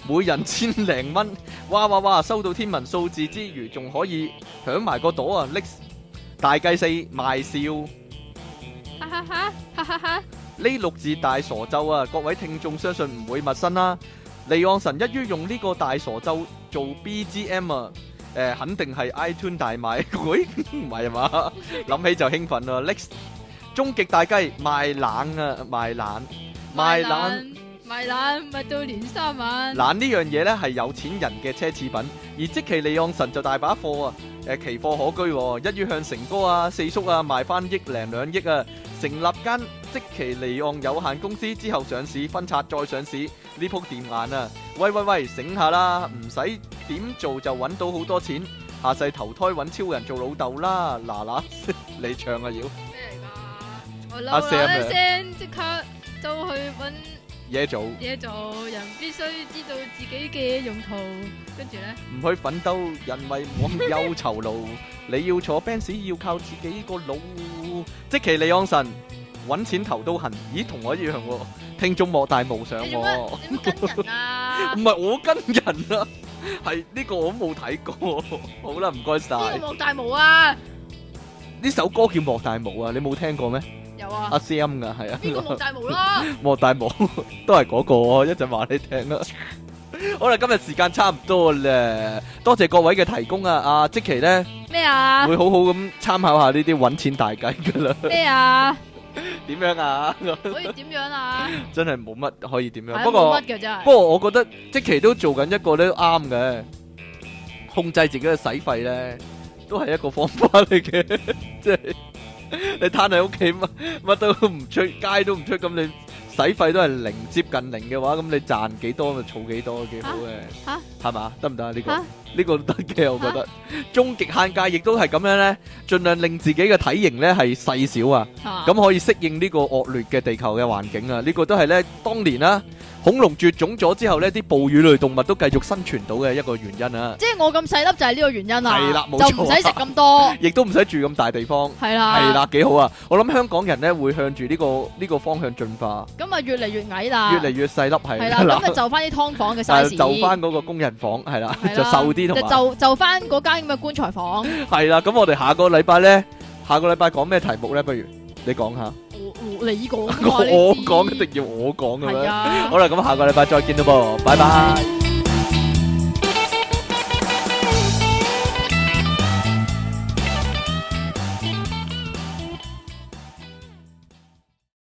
每人千零蚊，哇哇哇！收到天文數字之餘，仲可以響埋個朵啊！拎大計四賣笑， 哈哈哈，哈哈哈！ 呢6字大傻咒啊，各位聽眾相信唔會陌生啦。離岸神一於用呢個大傻咒做 BGM 啊，肯定係 iTunes 大賣，喂，唔係嘛？諗起就興奮啊！拎終極大雞賣冷啊，賣冷。賣懶咪到年三晚。 懶呢樣嘢呢係有錢人嘅奢侈品，而積淇離岸神就大把貨啊！奇貨可居喎，一於向成哥啊、四叔啊賣翻億零2億啊！成立間積淇離岸有限公司之後上市分拆再上市，呢鋪掂眼啊！喂，醒下啦，唔使點做就揾到好多錢，下世投胎揾超人做老豆啦！嗱你唱啊要咩嚟㗎？我阿嬲 Sam 啊啦聲，即刻就去揾嘢做， 人必須知道自己嘅用途，跟住咧唔去奮鬥，人為忘憂酬勞。你要坐 Benz 要靠自己個腦。積淇離岸神揾錢頭都痕，咦同我一樣喎。聽眾莫大無想喎。 你點跟人啊？ 唔係我跟人啊，係呢個我都冇睇過。好啦，唔該晒。 呢個莫大無啊？ 呢首歌叫莫大無啊，你冇聽過咩？ 有啊。 阿 Sam 噶係啊。 呢個莫大無啦。 莫大無都係嗰個，一陣話你聽啦。好啦，今日時間差唔多啦，多謝各位嘅提供啊！阿積淇咧咩啊？ 會好好咁參考下呢啲揾錢大計噶啦。 咩啊？ 點樣啊？ 可以點樣啊？ 真係冇乜可以點樣。 係不過冇乜嘅真係。 不過我覺得積淇都做緊一個咧啱嘅，控制自己嘅使費咧，都係一個方法嚟嘅。即係你攤喺屋企乜都唔出，街都唔出，咁你使費都係零接近零嘅話，咁你賺幾多咪儲幾多，幾好嘅。 嚇係嘛？得唔得啊？呢個嚇呢個都得嘅，我覺得。終極限界亦都係咁樣咧，盡量令自己嘅體型咧係細小啊，咁可以適應呢個惡劣嘅地球嘅環境啊。呢個都係咧當年啦，恐龍絕種咗之後咧，啲哺乳類動物都繼續生存到嘅一個原因啊。 即係我咁細粒就係呢個原因啊。 係啦，冇錯啊， 就唔使食咁多， 亦都唔使住咁大地方。 係啦， 係啦，幾好啊！我諗香港人咧會向住呢個方向進化， 咁啊越嚟越矮啦， 越嚟越細粒係啦，咁就就翻啲劏房嘅 size， 就翻嗰個工人房係啦， 係啦就瘦啲同埋就翻嗰間咁嘅棺材房。 係啦，咁我哋下個禮拜咧，下個禮拜講咩題目咧？不如你講下。 你講， 我講一定要我講嘅咩？ 係啊。 好啦，咁下個禮拜再見啦噃，拜拜。